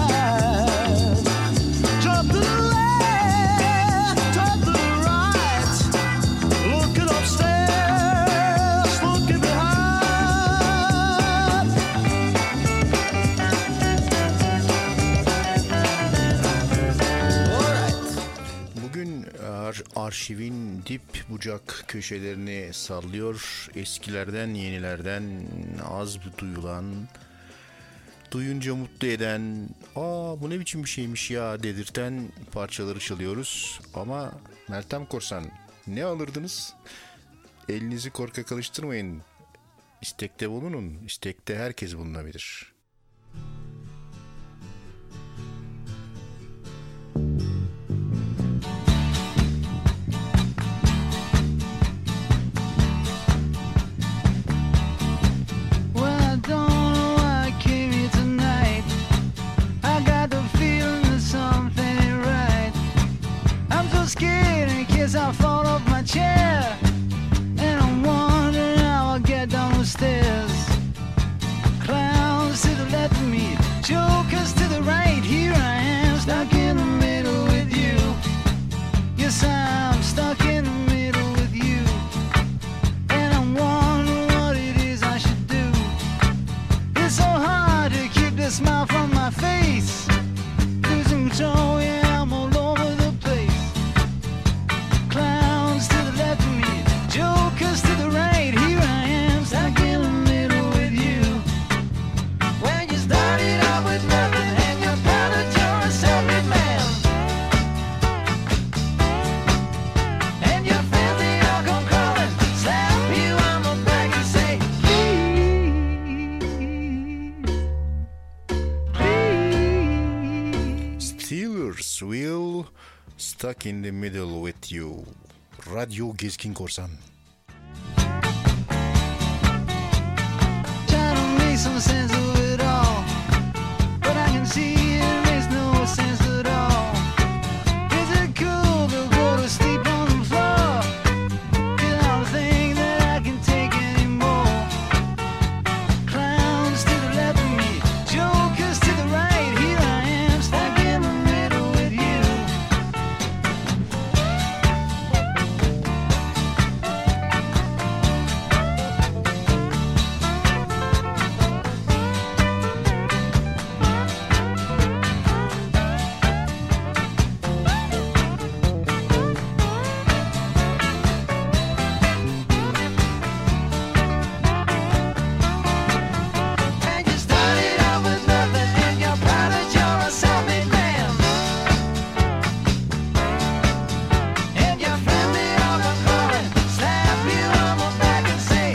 Jump to the left, turn to the right. Looking upstairs, looking behind. Bugün arşivin dip bucak köşelerini sallıyor. Eskilerden, yenilerden az duyulan, duyunca mutlu eden, bu ne biçim bir şeymiş ya dedirten parçaları çalıyoruz. Ama Meltem Korsan, ne alırdınız? Elinizi korkak alıştırmayın. İstekte bulunun. İstekte herkes bulunabilir. Well, I don't know why I came here tonight. I got the feeling that something ain't right. I'm so scared in case I fall off my chair. And I'm wondering how I'll get down the stairs. Clowns to the left of me, jokers to the right. Here I am, stuck in the middle with you. Yes, I'm stuck in the middle with you. And I'm wondering what it is I should do. It's so hard to keep the smile from my face. Losing control, yeah, I'm all over the place. Clowns to the left of me, jokers to the right. Here I am, stuck in the middle with you. When you started out with nothing and you're proud that you're a self-made man. And your friends, they all come crawling, slap you on the back and say, Steelers will stuck in the middle with you. Radyo Gezgin Korsan. trying to make some sense of it all. But I can see it makes no sense at all. Is it cool to go to sleep on the floor? 'Cause I don't think that I can take anymore. Clowns to the left of me, jokers to the right. Here I am, stuck in the middle with you. And you started out with nothing and you're proud that you're a self-made man. And your friends, they all come calling, slap you on the back and say,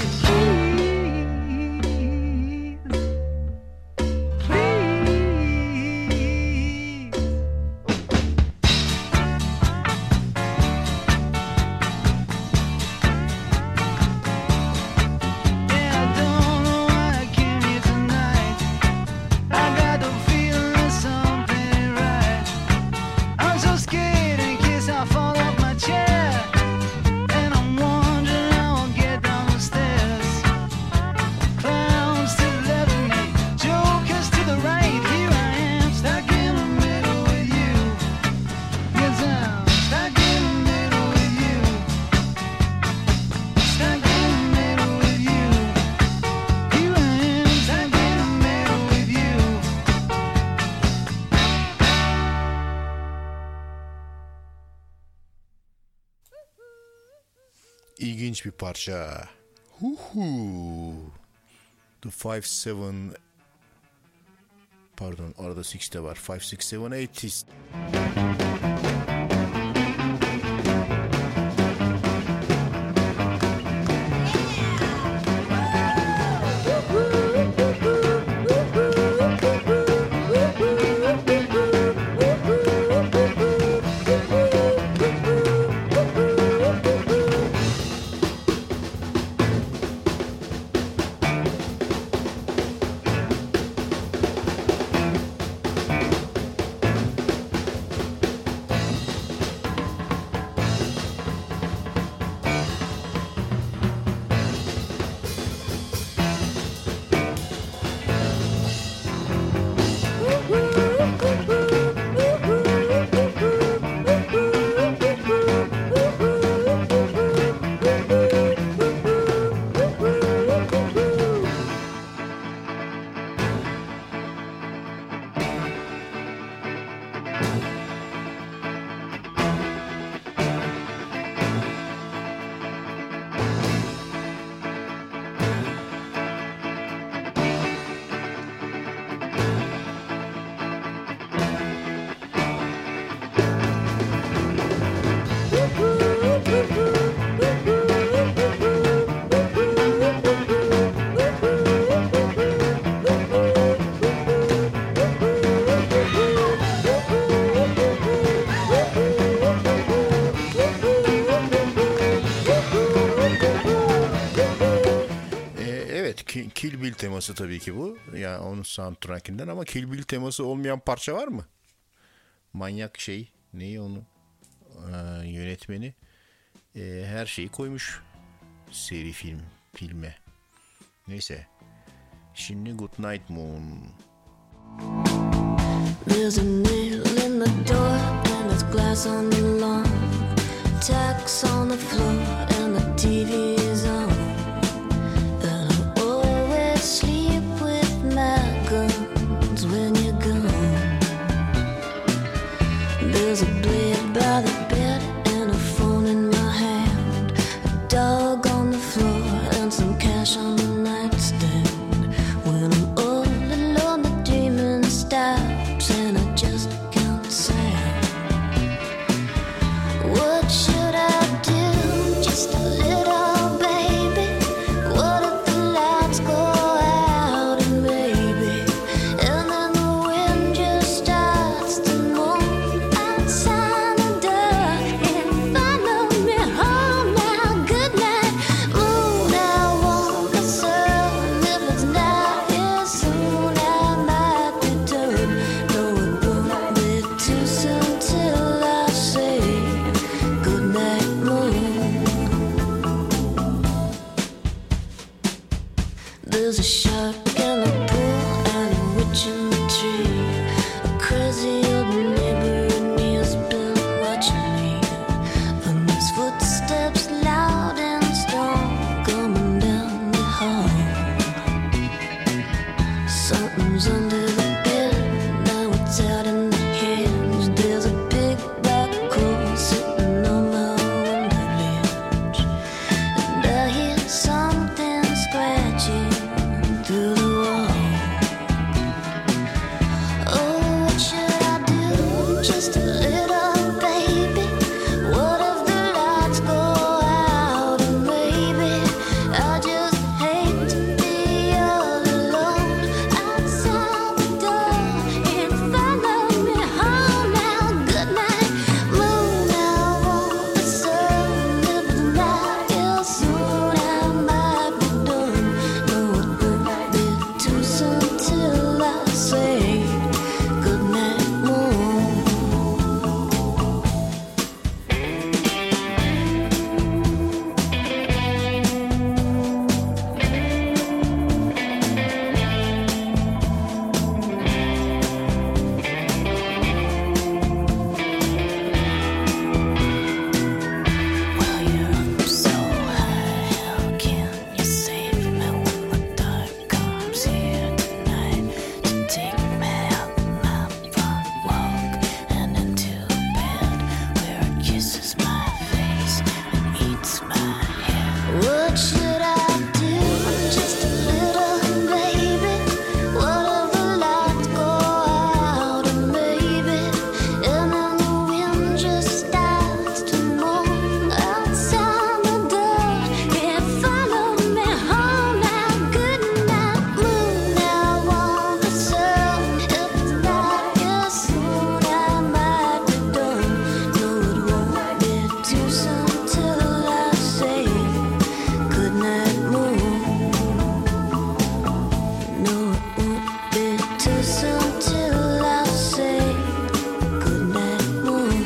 Yeah, I don't know why I came here tonight. I got the feeling that something ain't right. I'm so scared in case I fall off my chair. And I'm wondering how I'll get down the stairs. Clowns to the left of me, jokers to the right. Here I am, stuck in the middle with you. Yes, I'm stuck in the middle with you. Stuck in the middle with you. Here I am, stuck in the middle with you. İlginç bir parça. Huhu. The 5-7, pardon arada 6 de var. 5-6-7-8 Woo-hoo. Evet, Kill Bill teması tabii ki bu. Yani onun soundtrackinden, ama Kill Bill teması olmayan parça var mı? Manyak şey, neyi onu? Yönetmeni her şeyi koymuş seri filme. Neyse. Şimdi Good Night Moon. There's a nail in the door and there's glass on the lawn. Tacks on the floor and the TV is on. And I always sleep with my guns when you're gone. There's a blade by the bed and a phone in my hand. A dog on the floor and some cash on the nightstand. When I'm all alone, the dreaming stops and I just can't sound. What should I do? Just a little baby. What if the lights go out and maybe, and then the wind just starts to moan outside the door and follow me home now. Good night, moon. I want the sun. If it's not here soon, I might be done. No, it won't be too soon till I say good night, moon. There's a shark in the pool and a witch in the tree. A crazy old neighbor and he has been watching me. And his footsteps loud and strong coming down the hall. Something's under the bed, now it's out in the cage. There's a big black hole sitting on my window ledge. And I hear something scratching through the wall. Oh, what should I do? Just a little baby. What if the lights go out and maybe I just hate to be all alone outside the door and follow me home now. Good night, moon. I want the sun. If it's not here soon, I might be done. No, it won't be too soon till I say good night, moon. While you're up so high, how can you save me when the dark comes here tonight to take me out my front walk and into bed where it kisses my face and eats my head? What should I do? Just a little baby. What if the lights go out and maybe, and then the wind just starts to moan outside the door and follow me home now. Good night, moon. I want the sun. If it's not here soon, I might be done. No, it won't be too soon till I say good night, moon. No, it won't be too soon till I say good night, moon.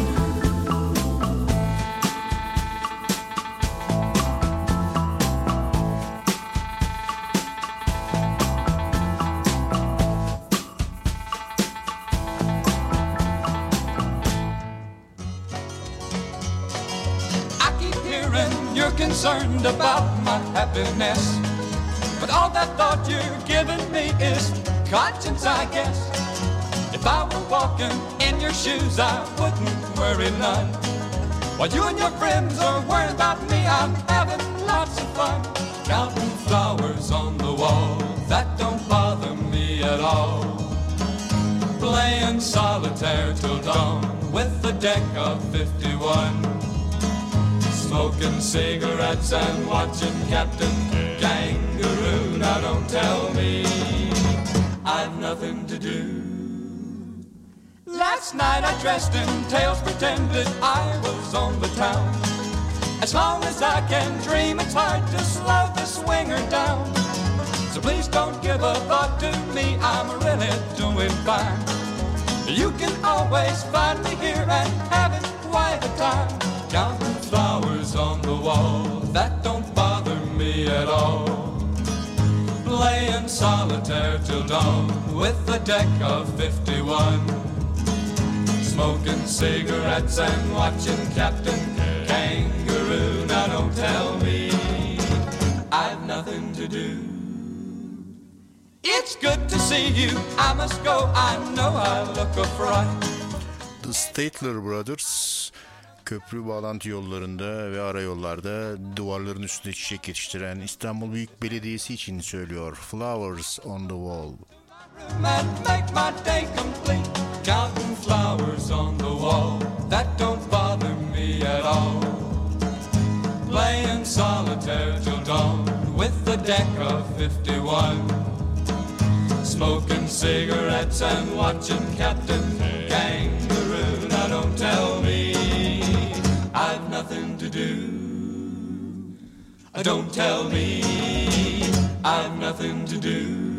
I keep hearing you're concerned about my happiness, but all that thought you're giving me is conscience, I guess. If I were walking in your shoes, I wouldn't worry none. While you and your friends are worried about me, I'm having lots of fun. Counting flowers on the wall, that don't bother me at all. Playing solitaire till dawn with a deck of 51. Smoking cigarettes and watching Captain Kangaroo. Now don't tell me I've nothing to do. Last night I dressed in tails, pretended I was on the town. As long as I can dream, it's hard to slow the swinger down. ever thought to me I'm really doing fine. You can always find me here and having quite a time. Counting flowers on the wall, that don't bother me at all. Playing solitaire till dawn with a deck of 51. Smoking cigarettes and watching Captain Kangaroo. Now don't tell me I've nothing to do. It's good to see you, I must go, I know I look a fright. The Statler Brothers köprü bağlantı yollarında ve arayollarda duvarların üstünde çiçek yetiştiren İstanbul Büyük Belediyesi için söylüyor. Flowers on the Wall. And make my day complete. Counting flowers on the wall, that don't bother me at all. Playing solitaire till dawn with a deck of 51. Smoking cigarettes and watching Captain Kangaroo. Now don't tell me I've nothing to do. Don't tell me I've nothing to do.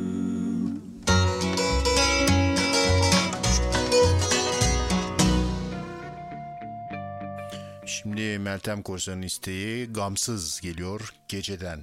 Şimdi Meltem Korsan'ın isteği Gamsız geliyor Geceden.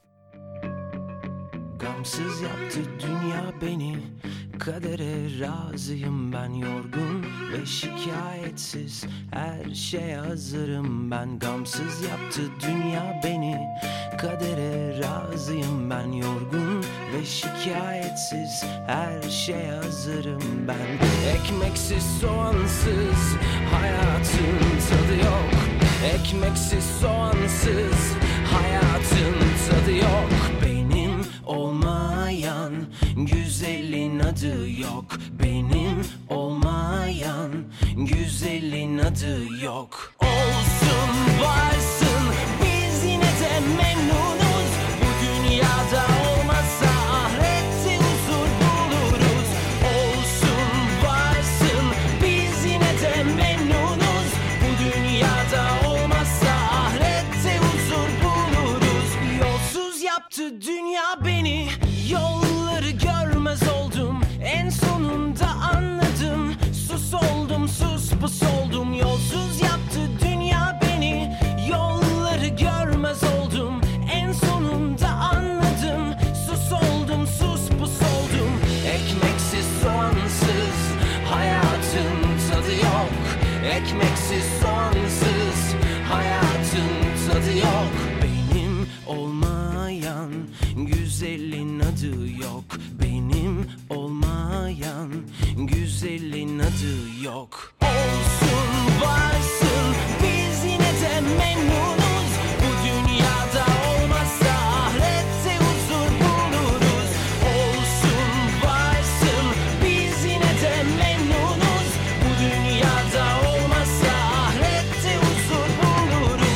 Gamsız yaptı dünya beni, kadere razıyım ben, yorgun ve şikayetsiz her şeye hazırım ben. Gamsız yaptı dünya beni, kadere razıyım ben, yorgun ve şikayetsiz her şeye hazırım ben. Ekmeksiz soğansız hayatın tadı yok, ekmeksiz soğansız hayatın tadı yok. Benim olmayan güzelin adı yok, benim olmayan güzelin adı yok. Olsun varsın biz yine de memnunuz, bu dünyada olmasa ahirette huzur buluruz. Olsun varsın biz yine de memnunuz, bu dünyada olmasa ahirette huzur buluruz. Yolsuz yaptı dünya beni, yolları görmez oldum, en sonunda anladım. Sus oldum, sus pus oldum, yolsuz yaptı dünya beni, yolları görmez oldum, en sonunda anladım. Sus oldum, sus pus oldum. Ekmeksiz soğansız hayatın tadı yok, ekmeksiz soğansız hayatın tadı yok. Benim olmayan güzelin adı yok, benim olmayan güzelin adı yok. Olsun varsın biz yine de memnunuz, bu dünyada olmazsa ahirette huzur buluruz. Olsun varsın biz yine de memnunuz, bu dünyada olmazsa ahirette huzur buluruz.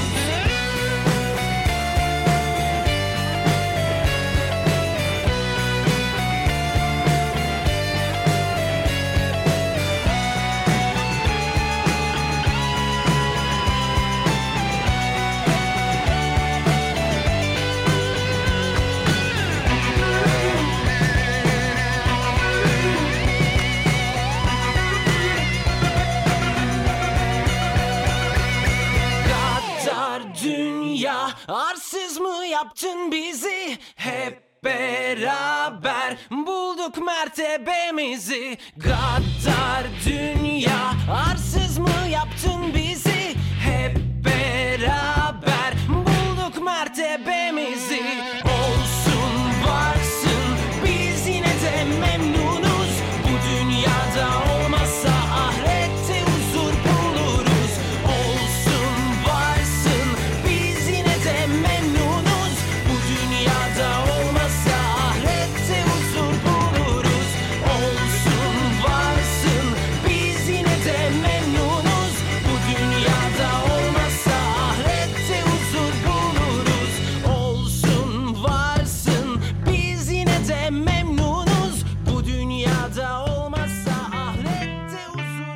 Gaddar dünya, arsız mı yaptın bizi? Hep beraber bulduk mertebemizi. Gaddar dünya, arsız mı yaptın bizi? Hep beraber bulduk mertebemizi. Olsun varsın biz yine de memnunuz, bu dünyada olmazsa ahirette huzur buluruz. Olsun varsın biz yine de memnunuz, bu dünyada olmazsa ahirette huzur buluruz. Olsun varsın biz yine de memnunuz, bu dünyada olmazsa ahirette huzur buluruz. Olsun varsın biz yine de memnunuz, bu dünyada olmazsa ahirette huzur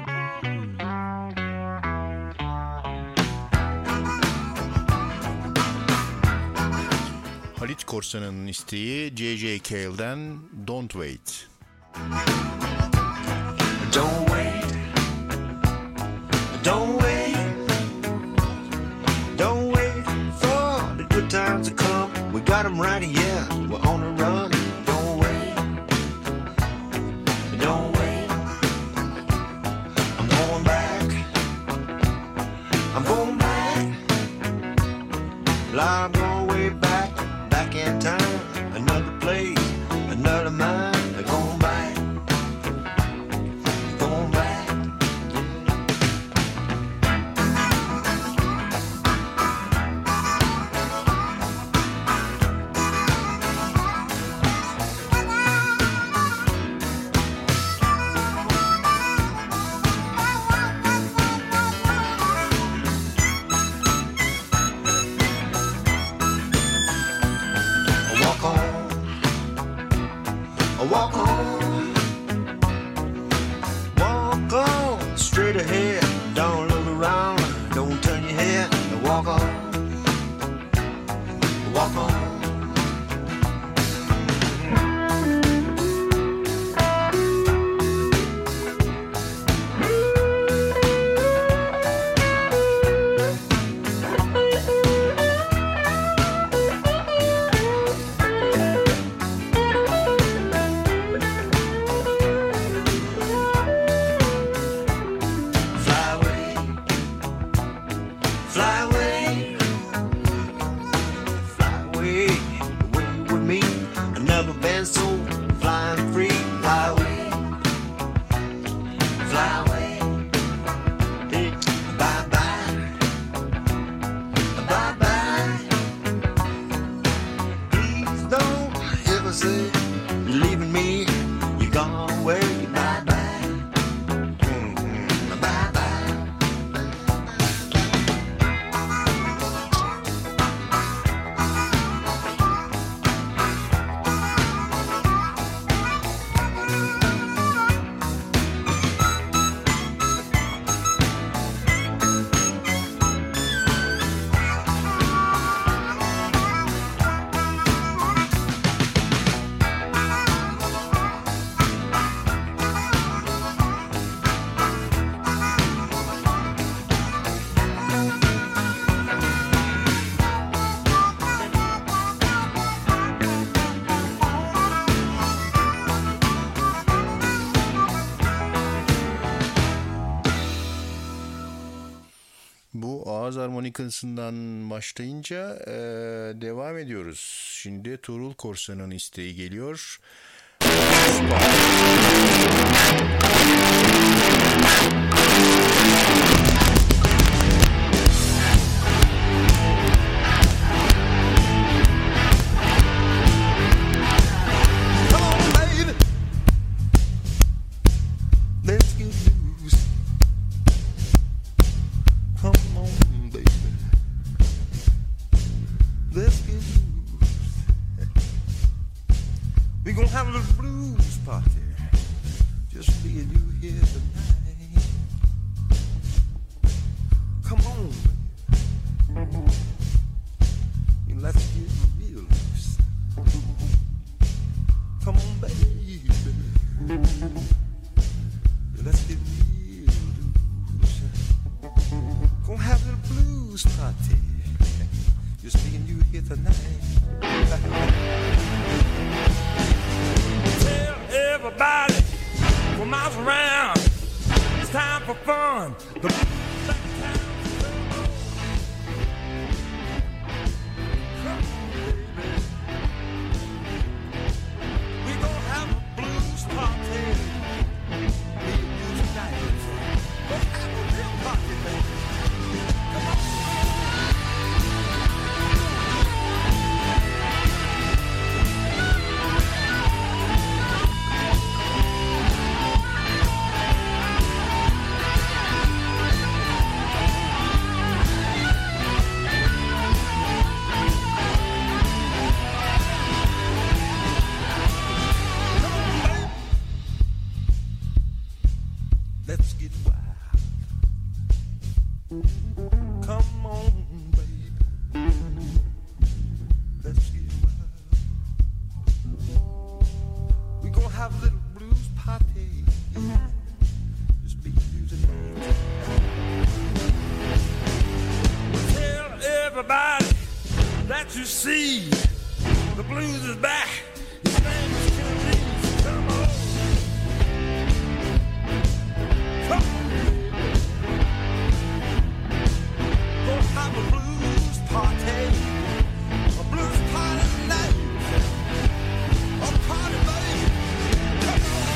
Halit Korsan'ın isteği J.J. Cale'den Don't Wait. Don't wait, don't wait, don't wait for the good times to come. We got them right here, we're on the run. Don't wait, don't wait. I'm going back, I'm going back. I'm going way back, back in time. Another place, another mind. Going back. Going back. Walk on, walk on, straight ahead. Don't look around, don't turn your head. Walk on, walk on. Ağız harmonikasından başlayınca devam ediyoruz. Şimdi Tuğrul Korsan'ın isteği geliyor. have a little blues party. Just be using names. Tell everybody that you see the blues is back. His name is Kennedy. Come on. Come on. Go have a blues party. A blues party tonight. A party, baby. Come on.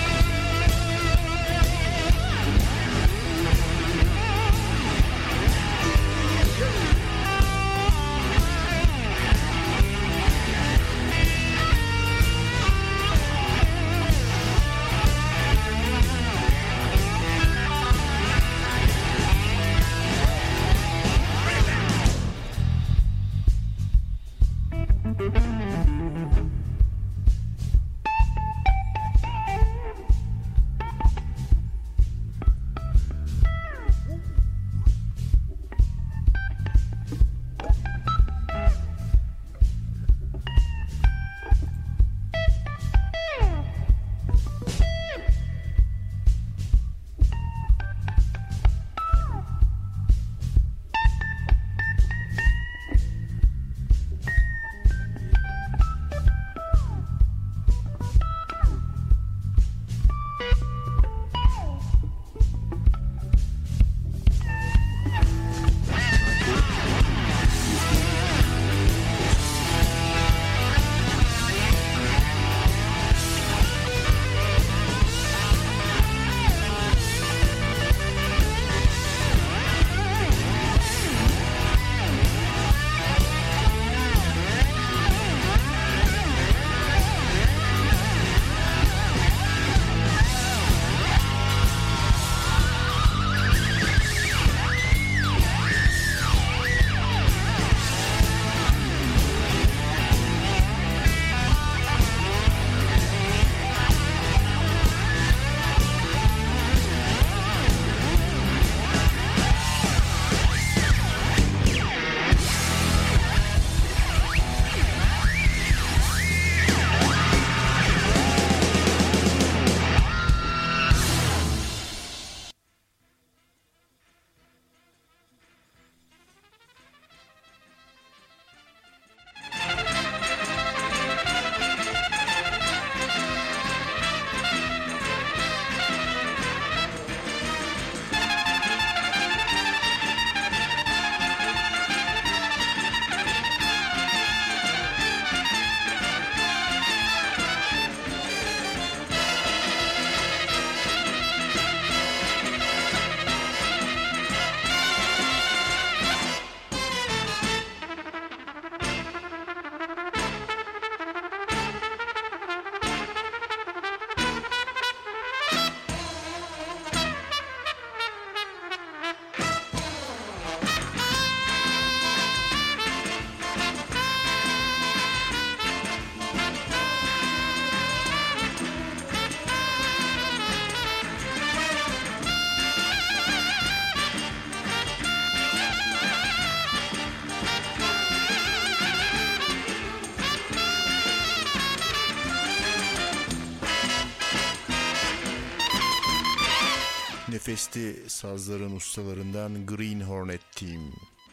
Nefesli sazların ustalarından Green Hornet Team.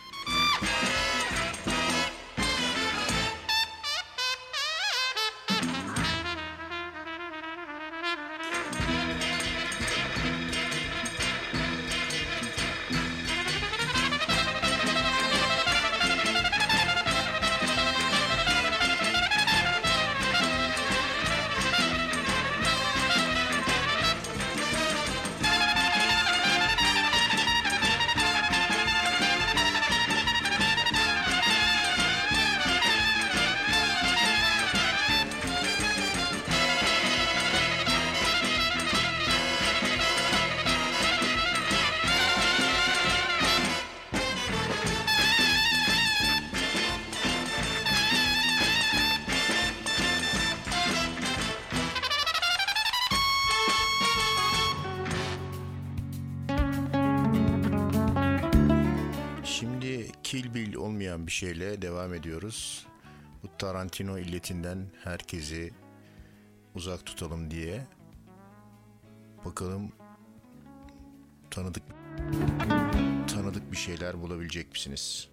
Kill Bill olmayan bir şeyle devam ediyoruz. Bu Tarantino illetinden herkesi uzak tutalım diye. Bakalım tanıdık bir şeyler bulabilecek misiniz?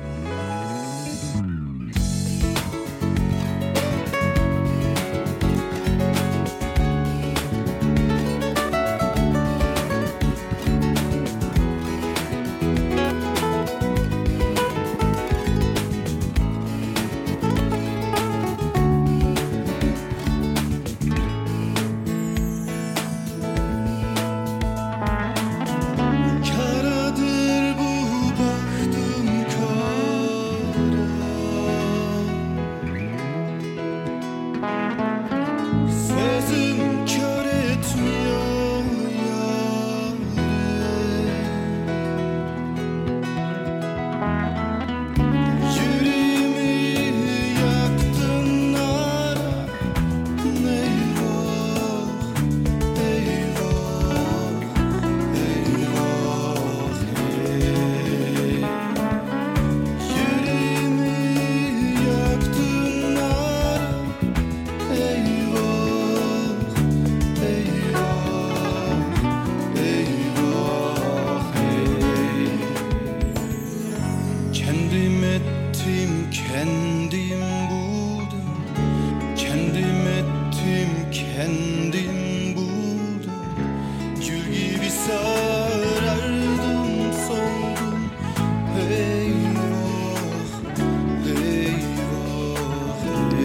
Karadır bu baktım sözüm kör etmiyor yüreğimi yaktın ara kendim ettim, kendim buldum. Kendim ettim, kendim buldum. Gül gibi sarardım, soldum. Eyvah, eyvah,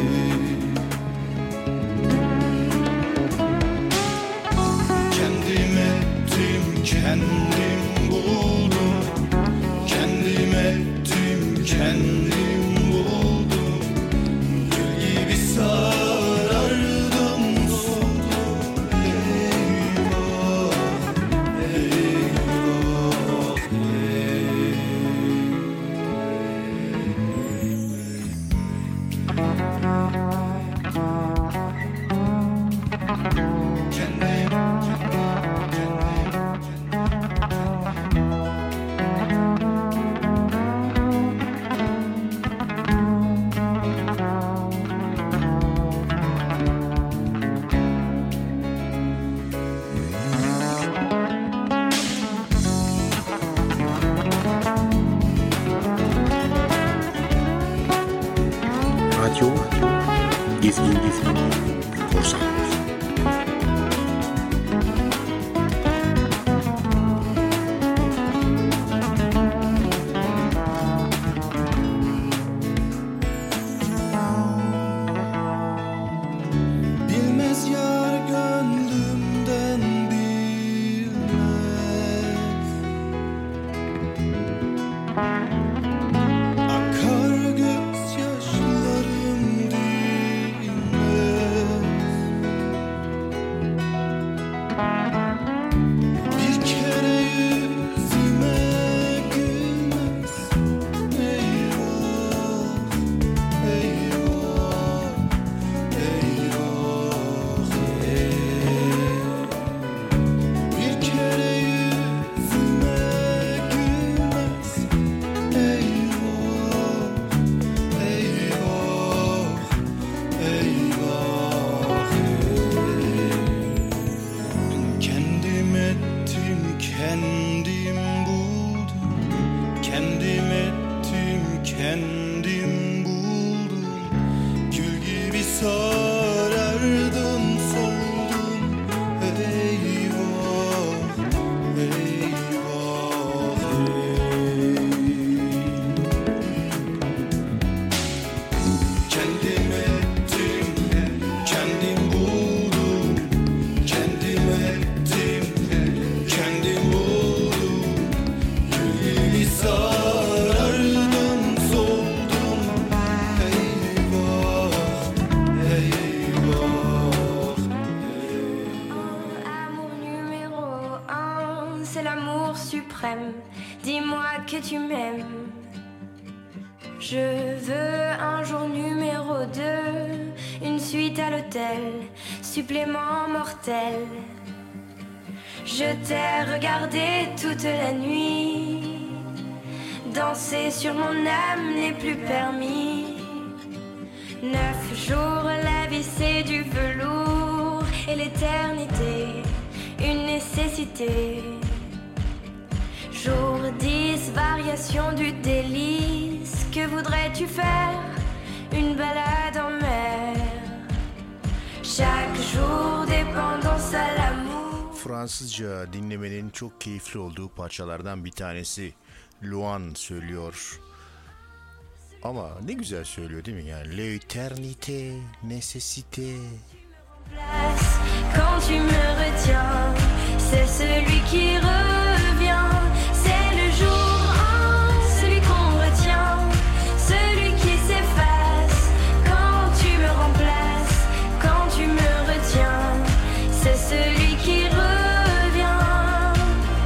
kendim ettim, kendim buldum. Kendim ettim, kendim buldum. Gül gibi sarardım, soldum. Eyvah, eyvah, Radyo Gezgin Korsan. bilmez yar gönlümden bilmez. Akar gözyaşlarım dinmez. Bir kere yüzüme gülmez. Eyvah, eyvah, eyvah, bir kere yüzüme gülmez. Eyvah, eyvah, eyvah, kendim ettim, kendim buldum. Kendim ettim, kendim buldum. Gül gibi sarardım, soldum. Eyvah, eyvah, kendim ettim, kendim buldum. Kendim ettim, kendim buldum. Gül gibi sarardım, soldum. Eyvah, eyvah. Amour numéro 1, c'est l'amour suprême. Dis-moi que tu m'aimes. Je veux un jour numéro 2, une suite à l'hôtel, supplément mortel. Je t'ai regardé toute la nuit, danser sur mon âme n'est plus permis. 9 jours, la vie c'est du velours. l'éternité, une nécessité. Jour 10, variation du délice. Que voudrais-tu faire? Une balade en mer. Chaque jour, dépendance à l'amour. Fransızca dinlemenin çok keyifli olduğu parçalardan bir tanesi. Luan söylüyor. Ama ne güzel söylüyor değil mi? Yani l'éternité, nécessité. Quand tu me retiens, c'est celui qui revient. C'est le jour 1, celui qu'on retient, celui qui s'efface. Quand tu me remplaces, quand tu me retiens, c'est celui qui revient.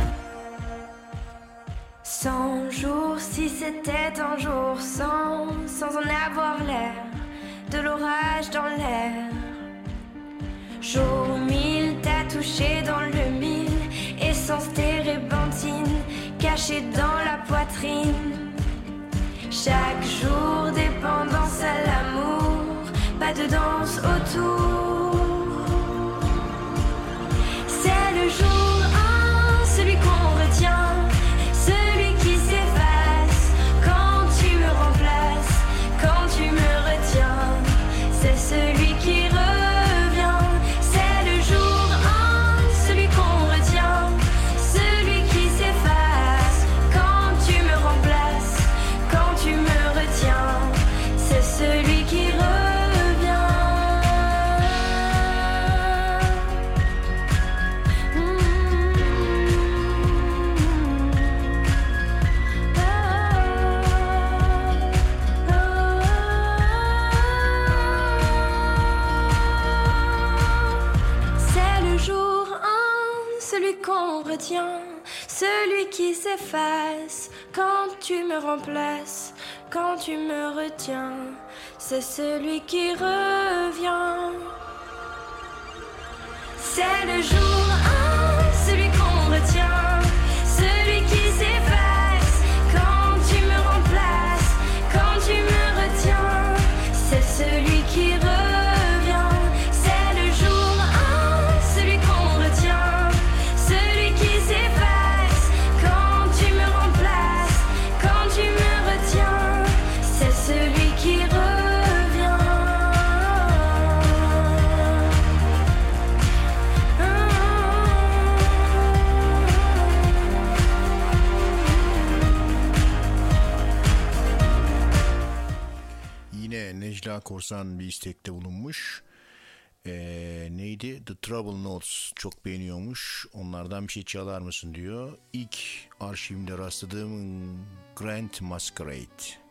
100 jours, si c'était un jour sans en avoir l'air, de l'orage dans l'air. Jour 1000, t'as touché dans le mille, essence térébenthine, cachée dans la poitrine. Chaque jour, dépendance à l'amour, pas de danse autour. C'est le jour 1, celui qu'on retient, celui qui s'efface. Quand tu me remplaces, quand tu me retiens, c'est celui qui revient. C'est le jour 1, celui qu'on retient, celui qui s'efface. Quand tu me remplaces, quand tu me retiens, c'est celui qui revient. C'est le jour 1, celui qu'on retient, celui qui s'efface. Quand tu me remplaces, quand tu me retiens, c'est celui qui revient. C'est le jour 1, celui qu'on retient, celui qui s'efface. Quand tu me remplaces, quand tu me retiens, c'est celui qui revient. C'est le jour 1, celui qu'on retient, celui qui s'efface. Quand tu me remplaces, quand tu me retiens, c'est celui qui revient. Yine Necla Korsan bir istekte bulunmuş. Neydi? The Trouble Notes çok beğeniyormuş. Onlardan bir şey çalar mısın diyor. İlk arşivimde rastladığım Grand Masquerade.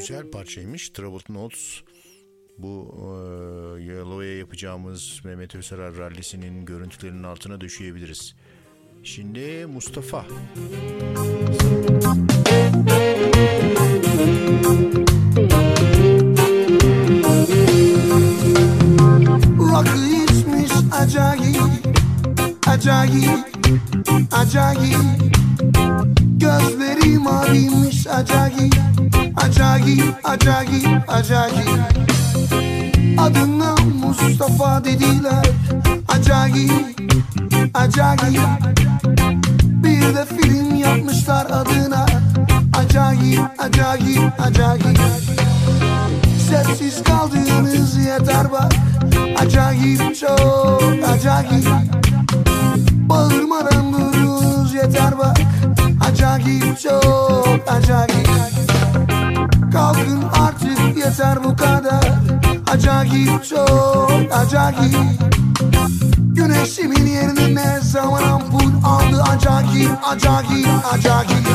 Güzel parçaymış. Troubled Notes. Bu Yellow'ya yapacağımız Mehmet Özsarar rallisinin görüntülerinin altına döşeyebiliriz. Şimdi Mustafa. Rakı içmiş acayip, acayip, acayip. Gözleri maviymiş acayip, acayip, acayip, acayip. Adına Mustafa dediler, acayip, acayip. Bir de film yapmışlar adına, acayip, acayip, acayip. Sessiz kaldığınız yeter bak, acayip, çok acayip. Bağırmadan durduğunuz yeter bak, acayip, çok acayip. Kalkın artık yeter bu kadar, acayip, çok acayip. Güneşimin yerine ne zaman ampul aldı, acayip, acayip, acayip.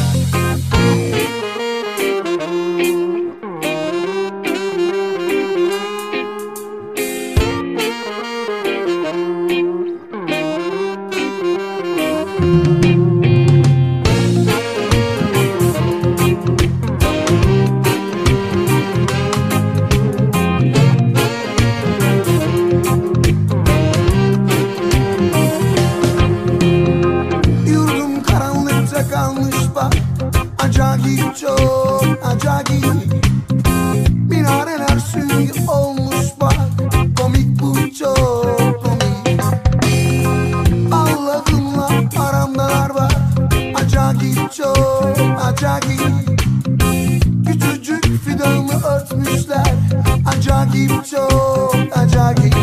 Yurdum karanlıkta kalmış bak, acayip, çok acayip. Minareler sürgü olmuş bak, komik bu, çok komik. Allah'ımla aramdalar var, acayip, çok acayip. Küçücük fidanı örtmüşler, acayip, çok acayip.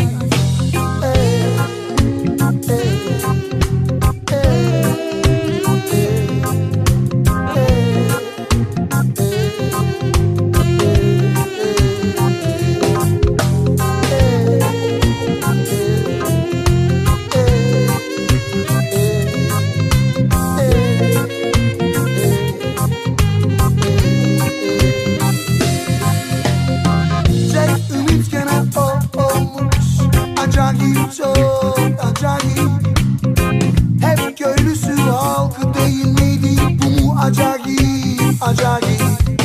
Tek ümit gene o olmuş, acayip, çok acayip. Hep köylüsü halkı değil miydi, bu mu acayip, acayip.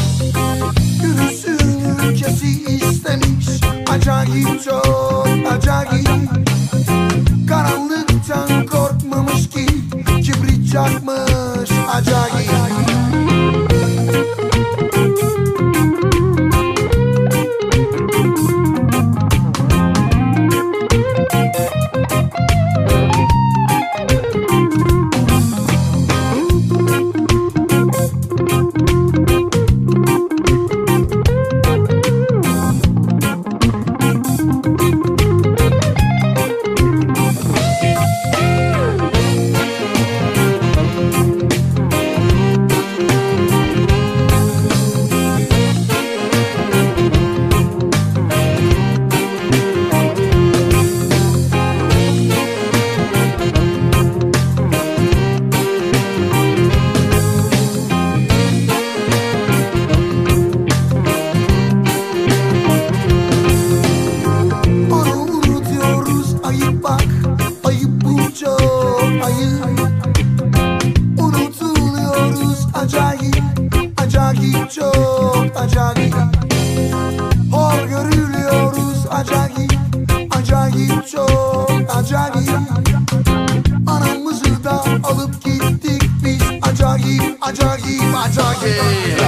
Yürüsün ülkesi istemiş, acayip, çok acayip. Karanlıktan korkmamış ki, kibrit çakmış, acayip. Onu unutuyoruz, ayıp bak, ayıp bu, çok ayıp. Unutuluyoruz, acayip, acayip, çok acayip. Hor görülüyoruz, acayip, acayip, çok acayip. Anamızı da alıp gittik biz, acayip, acayip, acayip.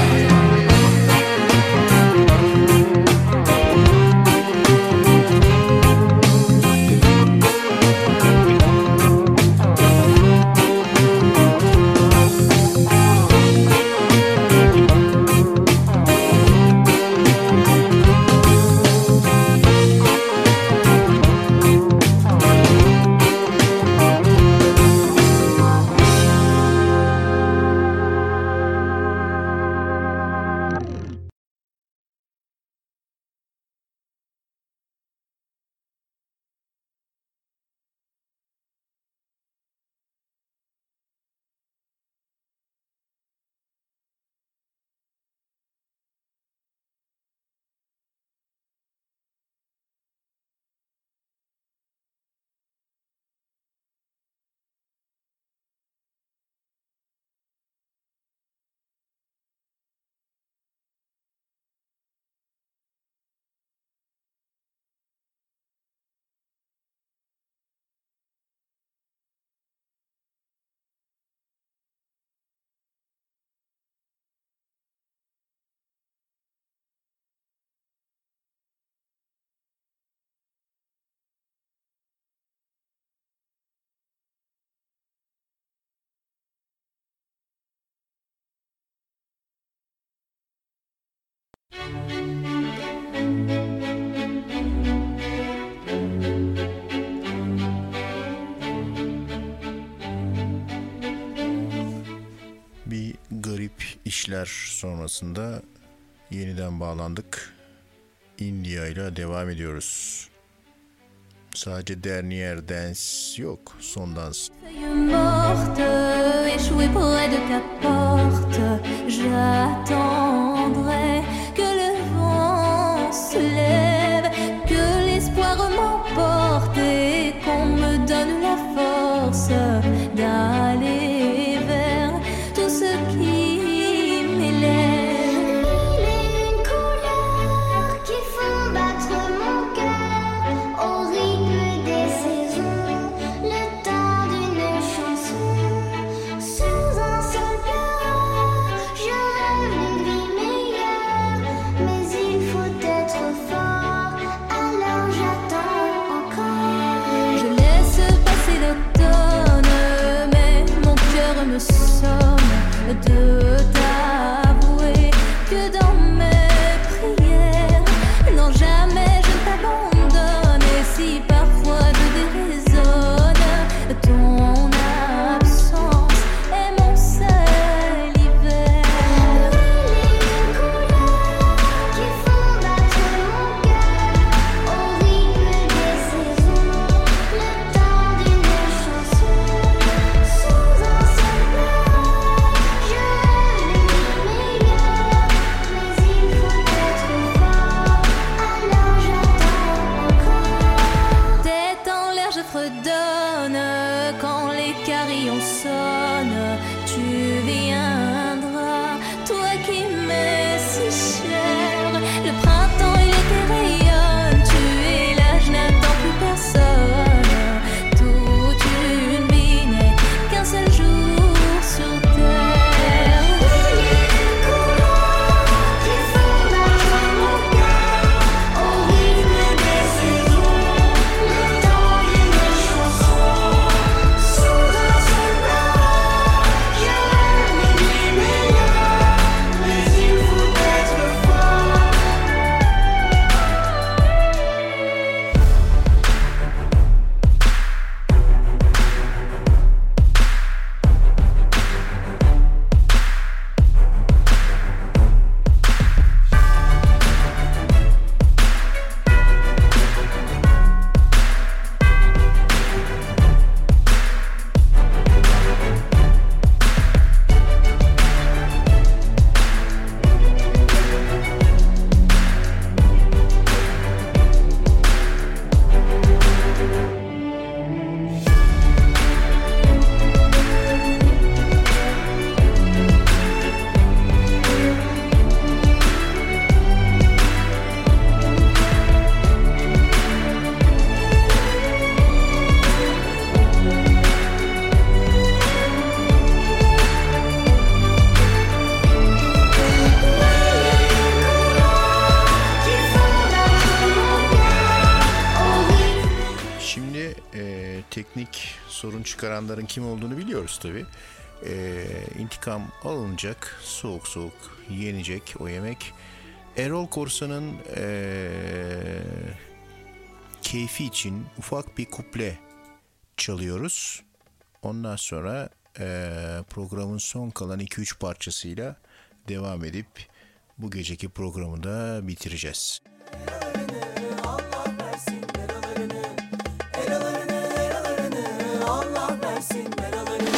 Bir garip işler sonrasında yeniden bağlandık. India ile devam ediyoruz. Sadece dernier dance yok, son dans. Morte, échouée près de ta porte, j'attendrai que le vent se lève, que l'espoir m'emporte et qu'on me donne la force d'aller vers tout ce qui m'élève. Mille et une couleurs qui font battre mon cœur au rythme des saisons, le temps d'une chanson. Sous un seul pleur, je rêve d'une vie meilleure, mais il faut être fort, alors j'attends encore. Je laisse passer l'automne, mais mon cœur me somme de t'avouer que dans mes prières, non jamais je ne t'abandonne. Et si parfois je déraisonne, ton absence est mon seul hiver. Qui font battre mon cœur au rythme des saisons, le temps d'une chanson. Sous un seul pleur, je rêve d'une vie meilleure, mais il faut être fort, alors j'attends encore. Tête en l'air, je fredonne quand les carillons sonnent. Tu viendras, toi qui m'es si cher. Le printemps et l'été rayonnent. Tu es là, je n'attends plus personne. Toute une vie n'est qu'un seul jour sur terre. Qui font battre mon cœur au rythme des saisons, le temps d'une chanson. Sous un seul pleur, je rêve d'une vie meilleure, mais il faut être fort. Şimdi teknik sorun çıkaranların kim olduğunu biliyoruz tabii. İntikam alınacak, soğuk soğuk yenecek o yemek. Erol Korsan'ın keyfi için ufak bir kuple çalıyoruz. Ondan sonra programın son kalan 2-3 parçasıyla devam edip bu geceki programı da bitireceğiz. Allah versin belalarını.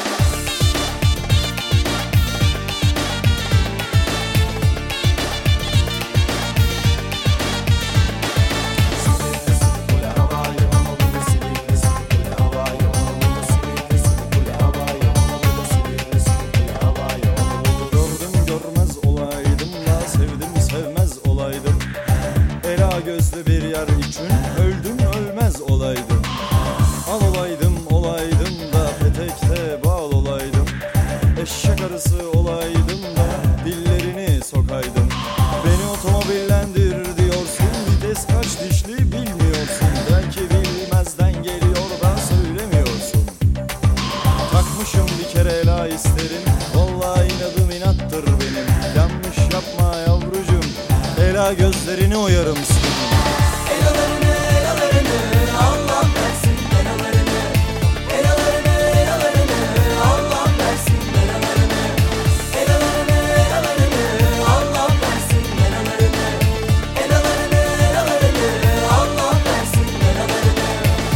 Gördüm görmez olaydım da sevdim sevmez olaydım. Ela gözlü bir yer için öldüm ölmez olaydım. Al olaydım olaydım da petekte bal olaydım. Eşek arısı olaydım da dillerini sokaydım. Beni otomobillendir diyorsun, vites kaç dişli bilmiyorsun. Belki bilmezden geliyor da söylemiyorsun. Takmışım bir kere ela isterim, vallahi inadım inattır benim. Yanlış yapma yavrucum, ela gözlerini oyarım senin. Elalarını Allah versin belalarını. Elalarını Allah versin belalarını. Elalarını Allah versin belalarını. Elalarını Allah versin belalarını.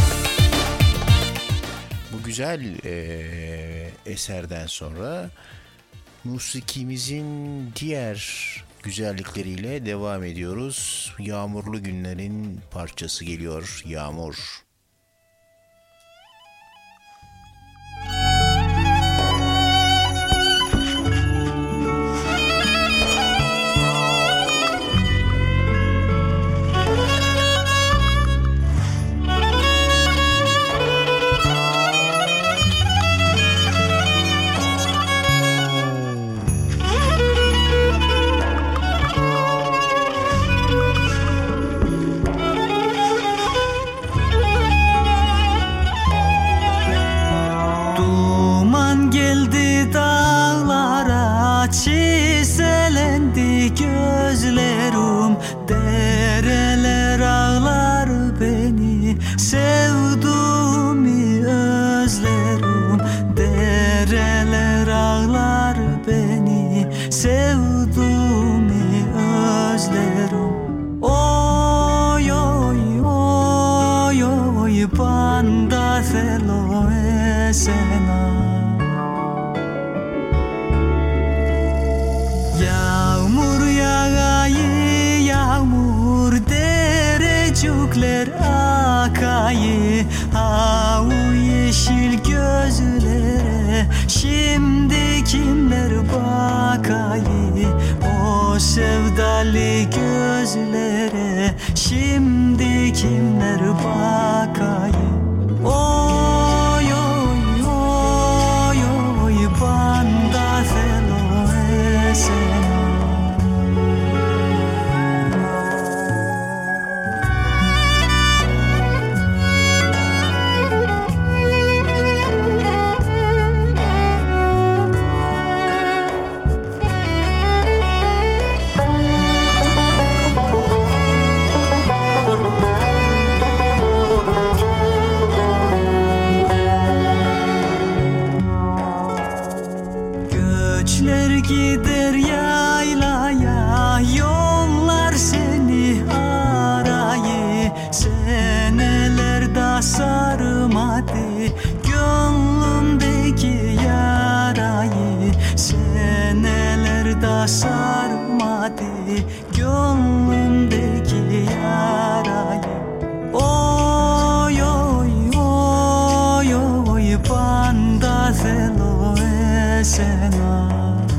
Bu güzel eserden sonra musikimizin diğer güzellikleriyle devam ediyoruz. Yağmurlu günlerin parçası geliyor, Yağmur. Duman geldi dağlara, çiselendi gözlerim. Dereler ağlar beni, sevduğumu özlerim. Dereler ağlar beni, sevduğumu özlerim. Oy oy oy oy banda felo esena. Yağmur yağayı yağmur, derecukler akayı. Avu yeşil gözlere şimdi kimler bakayı. O sevdalı gözlere şimdi kimler bakayı. Oy oy oy oy banda felo esena. Göçler gider yaylaya, yollar seni arayı. Seneler da sarmadı gönlümdeki yarayı. Seneler da sarmadı gönlümdeki yarayı. Oy oy oy oy banda felo esena.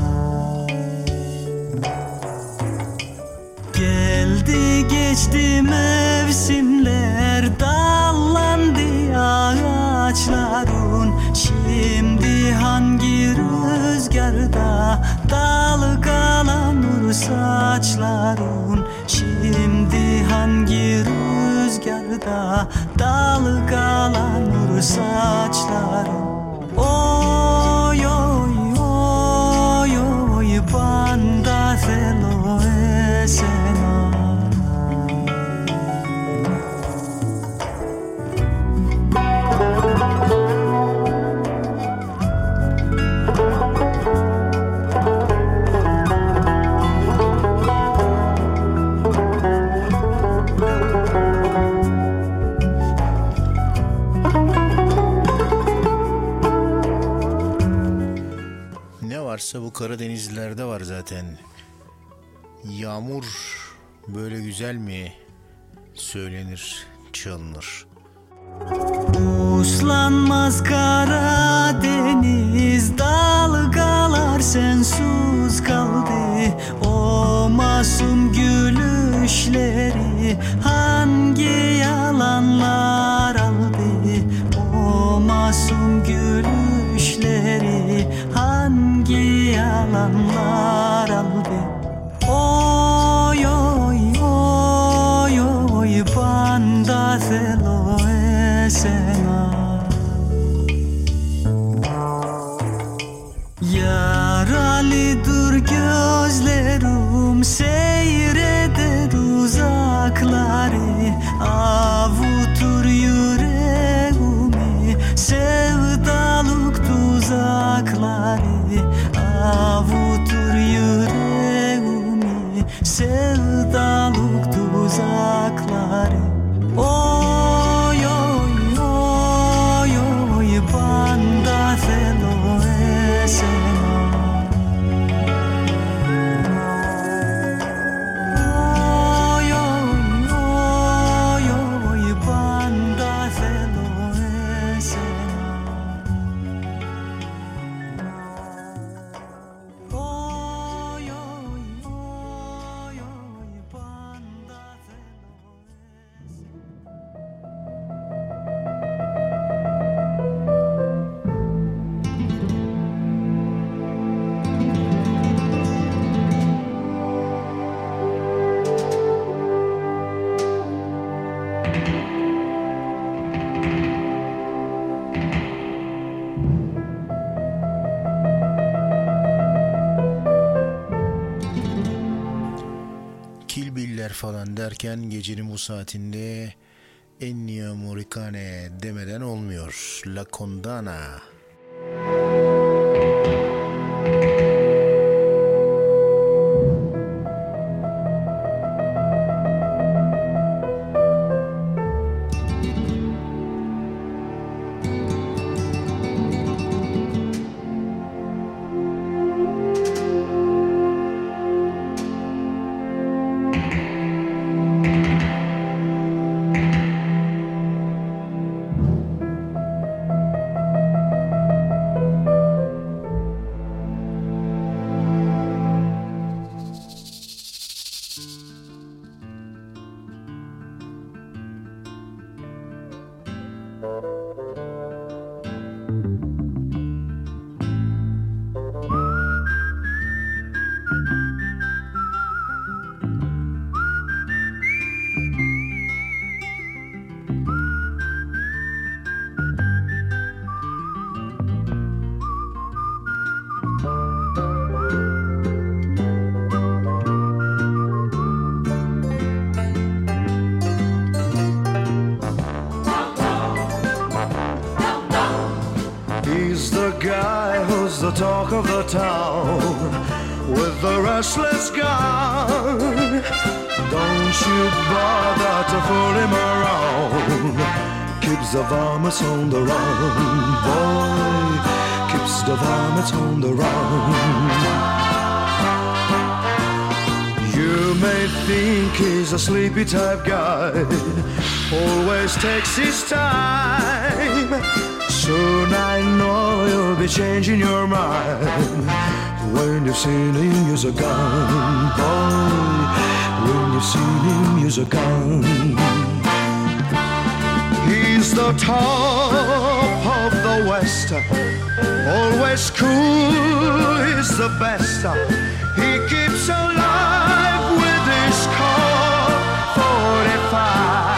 Geldi geçti mevsimler, dallandı ağaçların. Şimdi hangi rüzgarda dalgalanır saçların. Şimdi hangi rüzgarda dalgalanır saçların. Oy oy oy oy banda felo esena. Ne varsa bu Karadenizlilerde var zaten. Yağmur böyle güzel mi söylenir, çalınır? Uslanmaz Karadeniz, dalgalar sensiz kaldı. O masum gülüşleri hangi yalanlar aldı. O masum gülüşleri hangi yalanlar aldı. Oy oy oy oy banda felo esena. Yaralıdır gözlerim, seyrede tuzakları avutur yüreğimi, sevdalık tuzakları avutur yüreğimi, sevdalık tuzakları. Oy oy oy oy banda felo esena. Oy oy oy oy banda felo esena. Oy oy oy oy banda felo. Kill Bill'ler falan derken gecenin bu saatinde Ennio Morricone demeden olmuyor. La Condana. He's the guy who's the talk of the town with the restless gun. Don't you bother to fool him around. Keeps the varmints on the run, boy. Keeps the varmints on the run. You may think he's a sleepy type guy, always takes his time. Soon I know you'll be changing your mind when you've seen him use a gun, boy. When you've seen him use a gun. He's the top of the West, always cool, he's the best. He keeps alive with his Colt 45.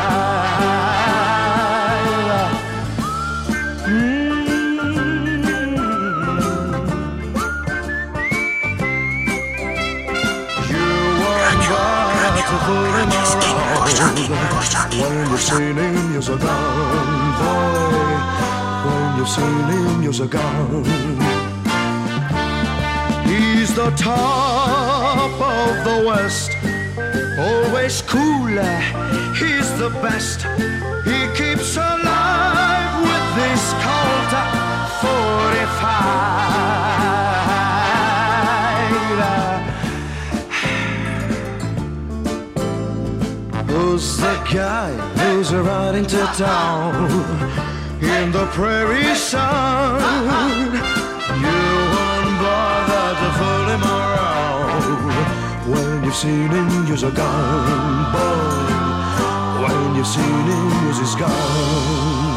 When you've seen him use a gun, boy. When you've seen him use a gun. He's the top of the West, always cooler, he's the best. He keeps alive with this Colt 45. Who's the guy who's riding to town in the prairie sun? You won't bother to fool him around when you've seen him use a gun, boy. When you've seen him use his gun.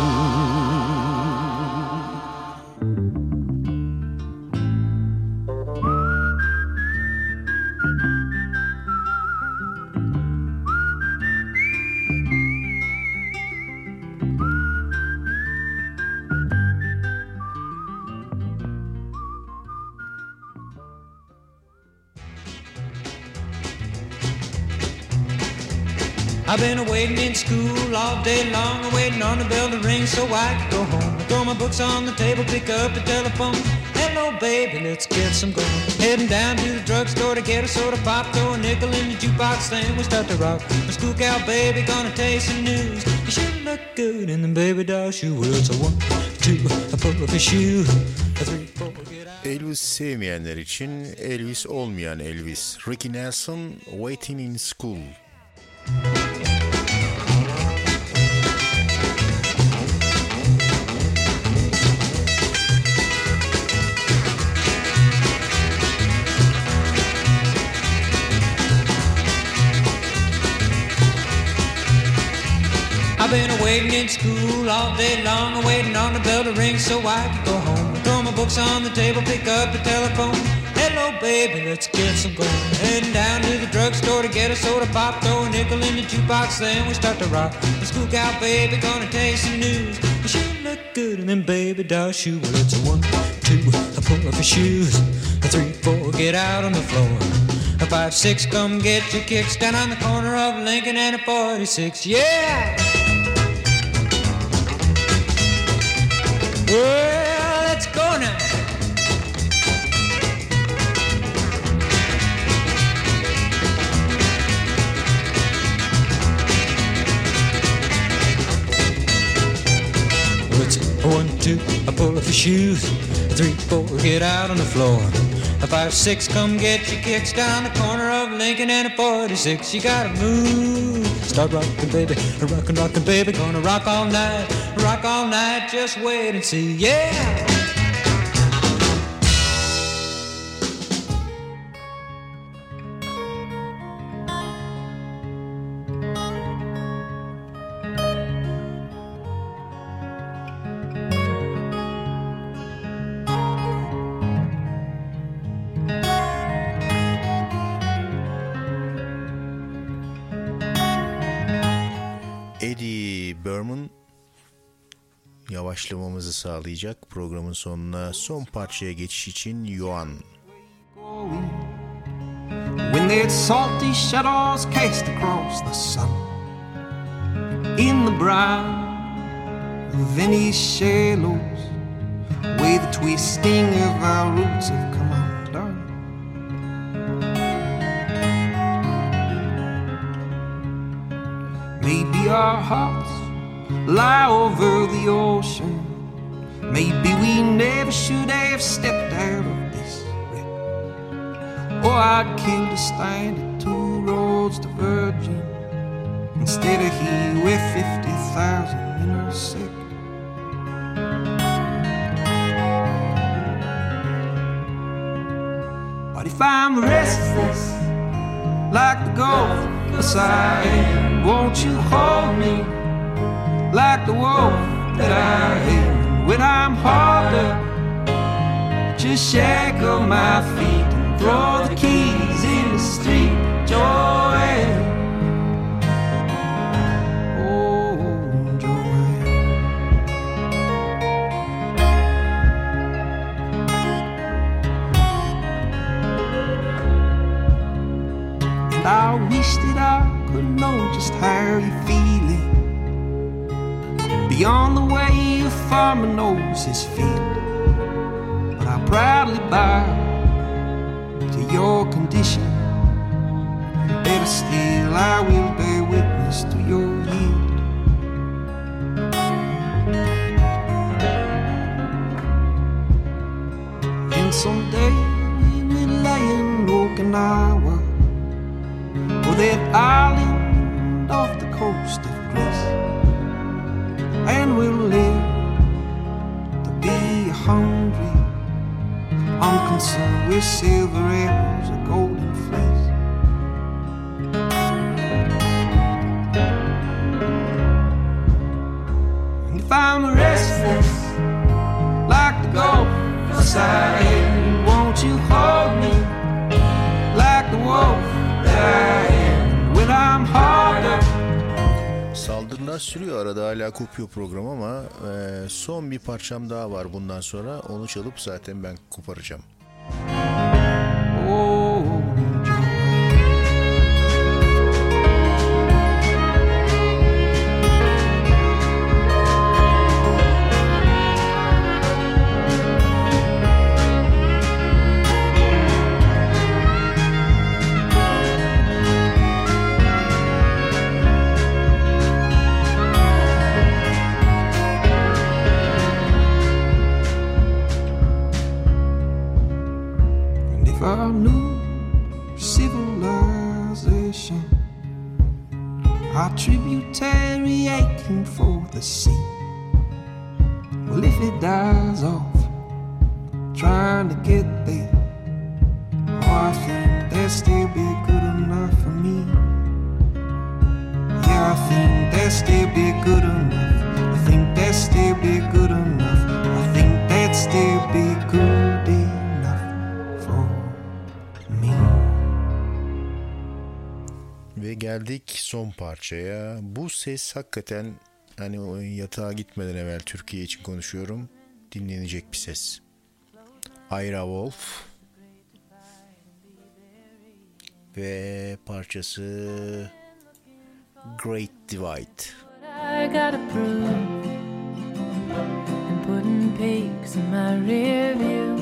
I've been waiting in school all day long, waiting on the bell to ring so I can go home. I throw my books on the table, pick up the telephone. Hello, baby, let's get some going. Heading down to the drugstore to get a soda pop, throw a nickel in the jukebox, then we start to rock. The school cow baby gonna tell you some news. You sure look good in the baby doll shoe. Well, it's a 1, 2, I pull up a shoe, a 3, 4, get out. Elvis sevmeyenler için Elvis olmayan Elvis. Ricky Nelson, Waiting in School. I've been waiting in school all day long, waiting on the bell to ring so I can go home. Throw my books on the table, pick up the telephone. Hello, baby, let's get some going. Heading down to the drugstore to get a soda pop, throw a nickel in the jukebox, then we start to rock. The school cow baby gonna tell you some news. You sure look good in them baby doll shoes. Well, it's a 1, 2, I pull up your shoes. A 3, 4, get out on the floor. A 5, 6, come get your kicks down on the corner of Lincoln and a 46. Yeah! Well, let's go now. Well, it's a 1, 2, I pull up your shoes. A 3, 4, get out on the floor. A 5, 6, come get your kicks down the corner of Lincoln and a 46. You gotta move. Start rockin', baby, rockin', baby. Gonna rock all night, just wait and see, yeah! Eddie Berman yavaşlamamızı sağlayacak. Programın sonuna son parçaya geçiş için Yuan. When that salty shadows cast across the sun, in the brown Venice shallows, where the twisting of our roots have come undone. Maybe our hearts lie over the ocean. Maybe we never should have stepped out of this wreck. Or I'd kill to stand at 2 roads to Virgin instead of here where 50,000 intersect. But if I'm restless like the Gulf of Siam, won't you hold me like the wolf that I am? When I'm hauled up, just shackle my feet and throw the keys in the street, Joanne. Oh, Joanne. And I wish that I could know just how you're feeling, beyond the way a farmer knows his field. But I proudly bow to your condition, and better still, I will bear witness to your yield. And someday we will lay in Okinawa, or that island off the coast of Greece, and we'll live to be hungry, unconcerned with silver arrows or golden fleece. And if I'm restless like the Gulf of Siam, won't you hold me like the wolf that I am? When I'm hard up. Saldırılar sürüyor, arada hala kopuyor program ama son bir parçam daha var bundan sonra, onu çalıp zaten ben koparacağım. for new civilization, our tributary aching for the sea. Well, if it dies off trying to get there, oh, I think that'd still be good enough for me. Yeah, I think that'd still be good enough. I think that'd still be good enough. I think that'd still be good enough for me. Ve geldik son parçaya. Bu ses hakikaten hani o yatağa gitmeden evvel Türkiye için konuşuyorum. Dinlenecek bir ses. Ira Wolf ve parçası Great Divide. I gotta prove and putting peaks in my rear view.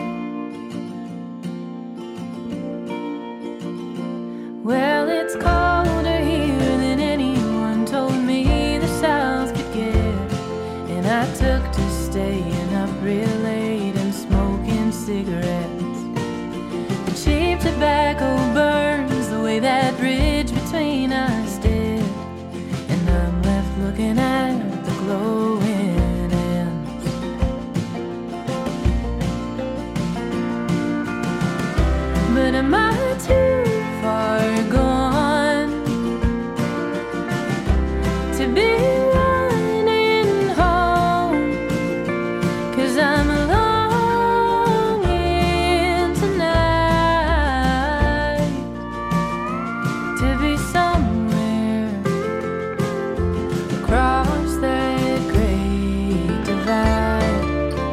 Well, it's colder here than anyone told me the South could get, and I took to staying up real late and smoking cigarettes. The cheap tobacco burns the way that bridge between us did, and I'm left looking at the glowing ends. But am I too far gone to be running home? 'Cause I'm longing tonight to be somewhere across that great divide.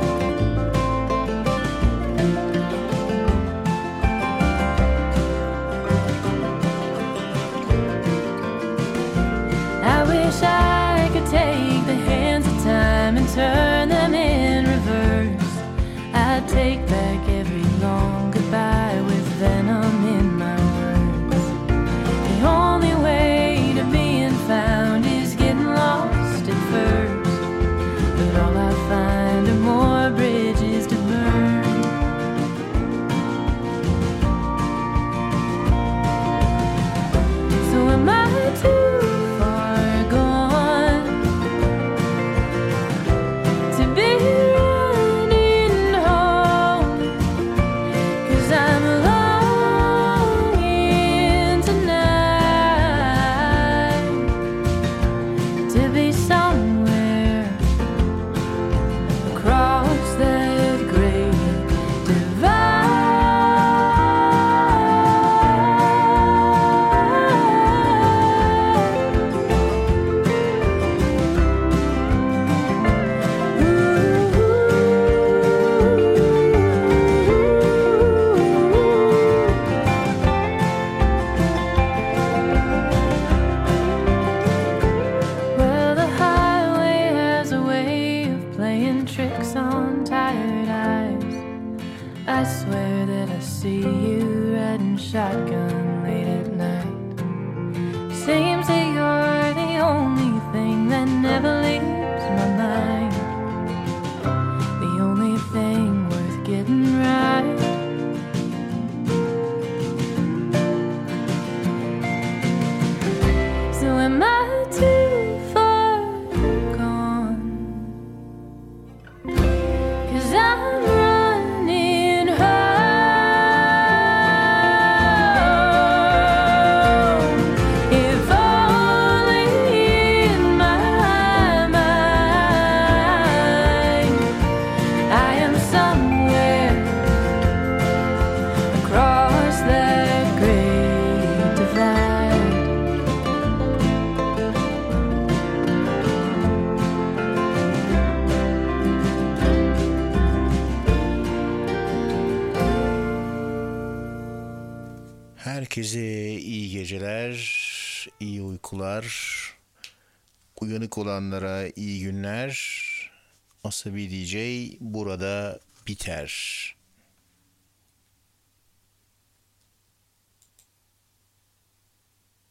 I wish I could take the hands of time and turn them in reverse. I'd take back every long goodbye with venom in my words. The only way to being found is getting lost at first, but all I find are more bridges to burn. So am I too far gone to be running home? 'Cause I'm longing tonight to be somewhere across that great Well, the highway has a way of playing tricks on tired eyes. I swear that I see you riding shotgun late at night. Seems that you're the only thing that never leaves my mind. The only thing worth getting right. So am I too far gone? 'Cause I'm running home. If only in my mind I am somewhere across that great divide. Herkese iyi geceler, iyi uykular, uyanık olanlara iyi günler. Asabi DJ burada biter.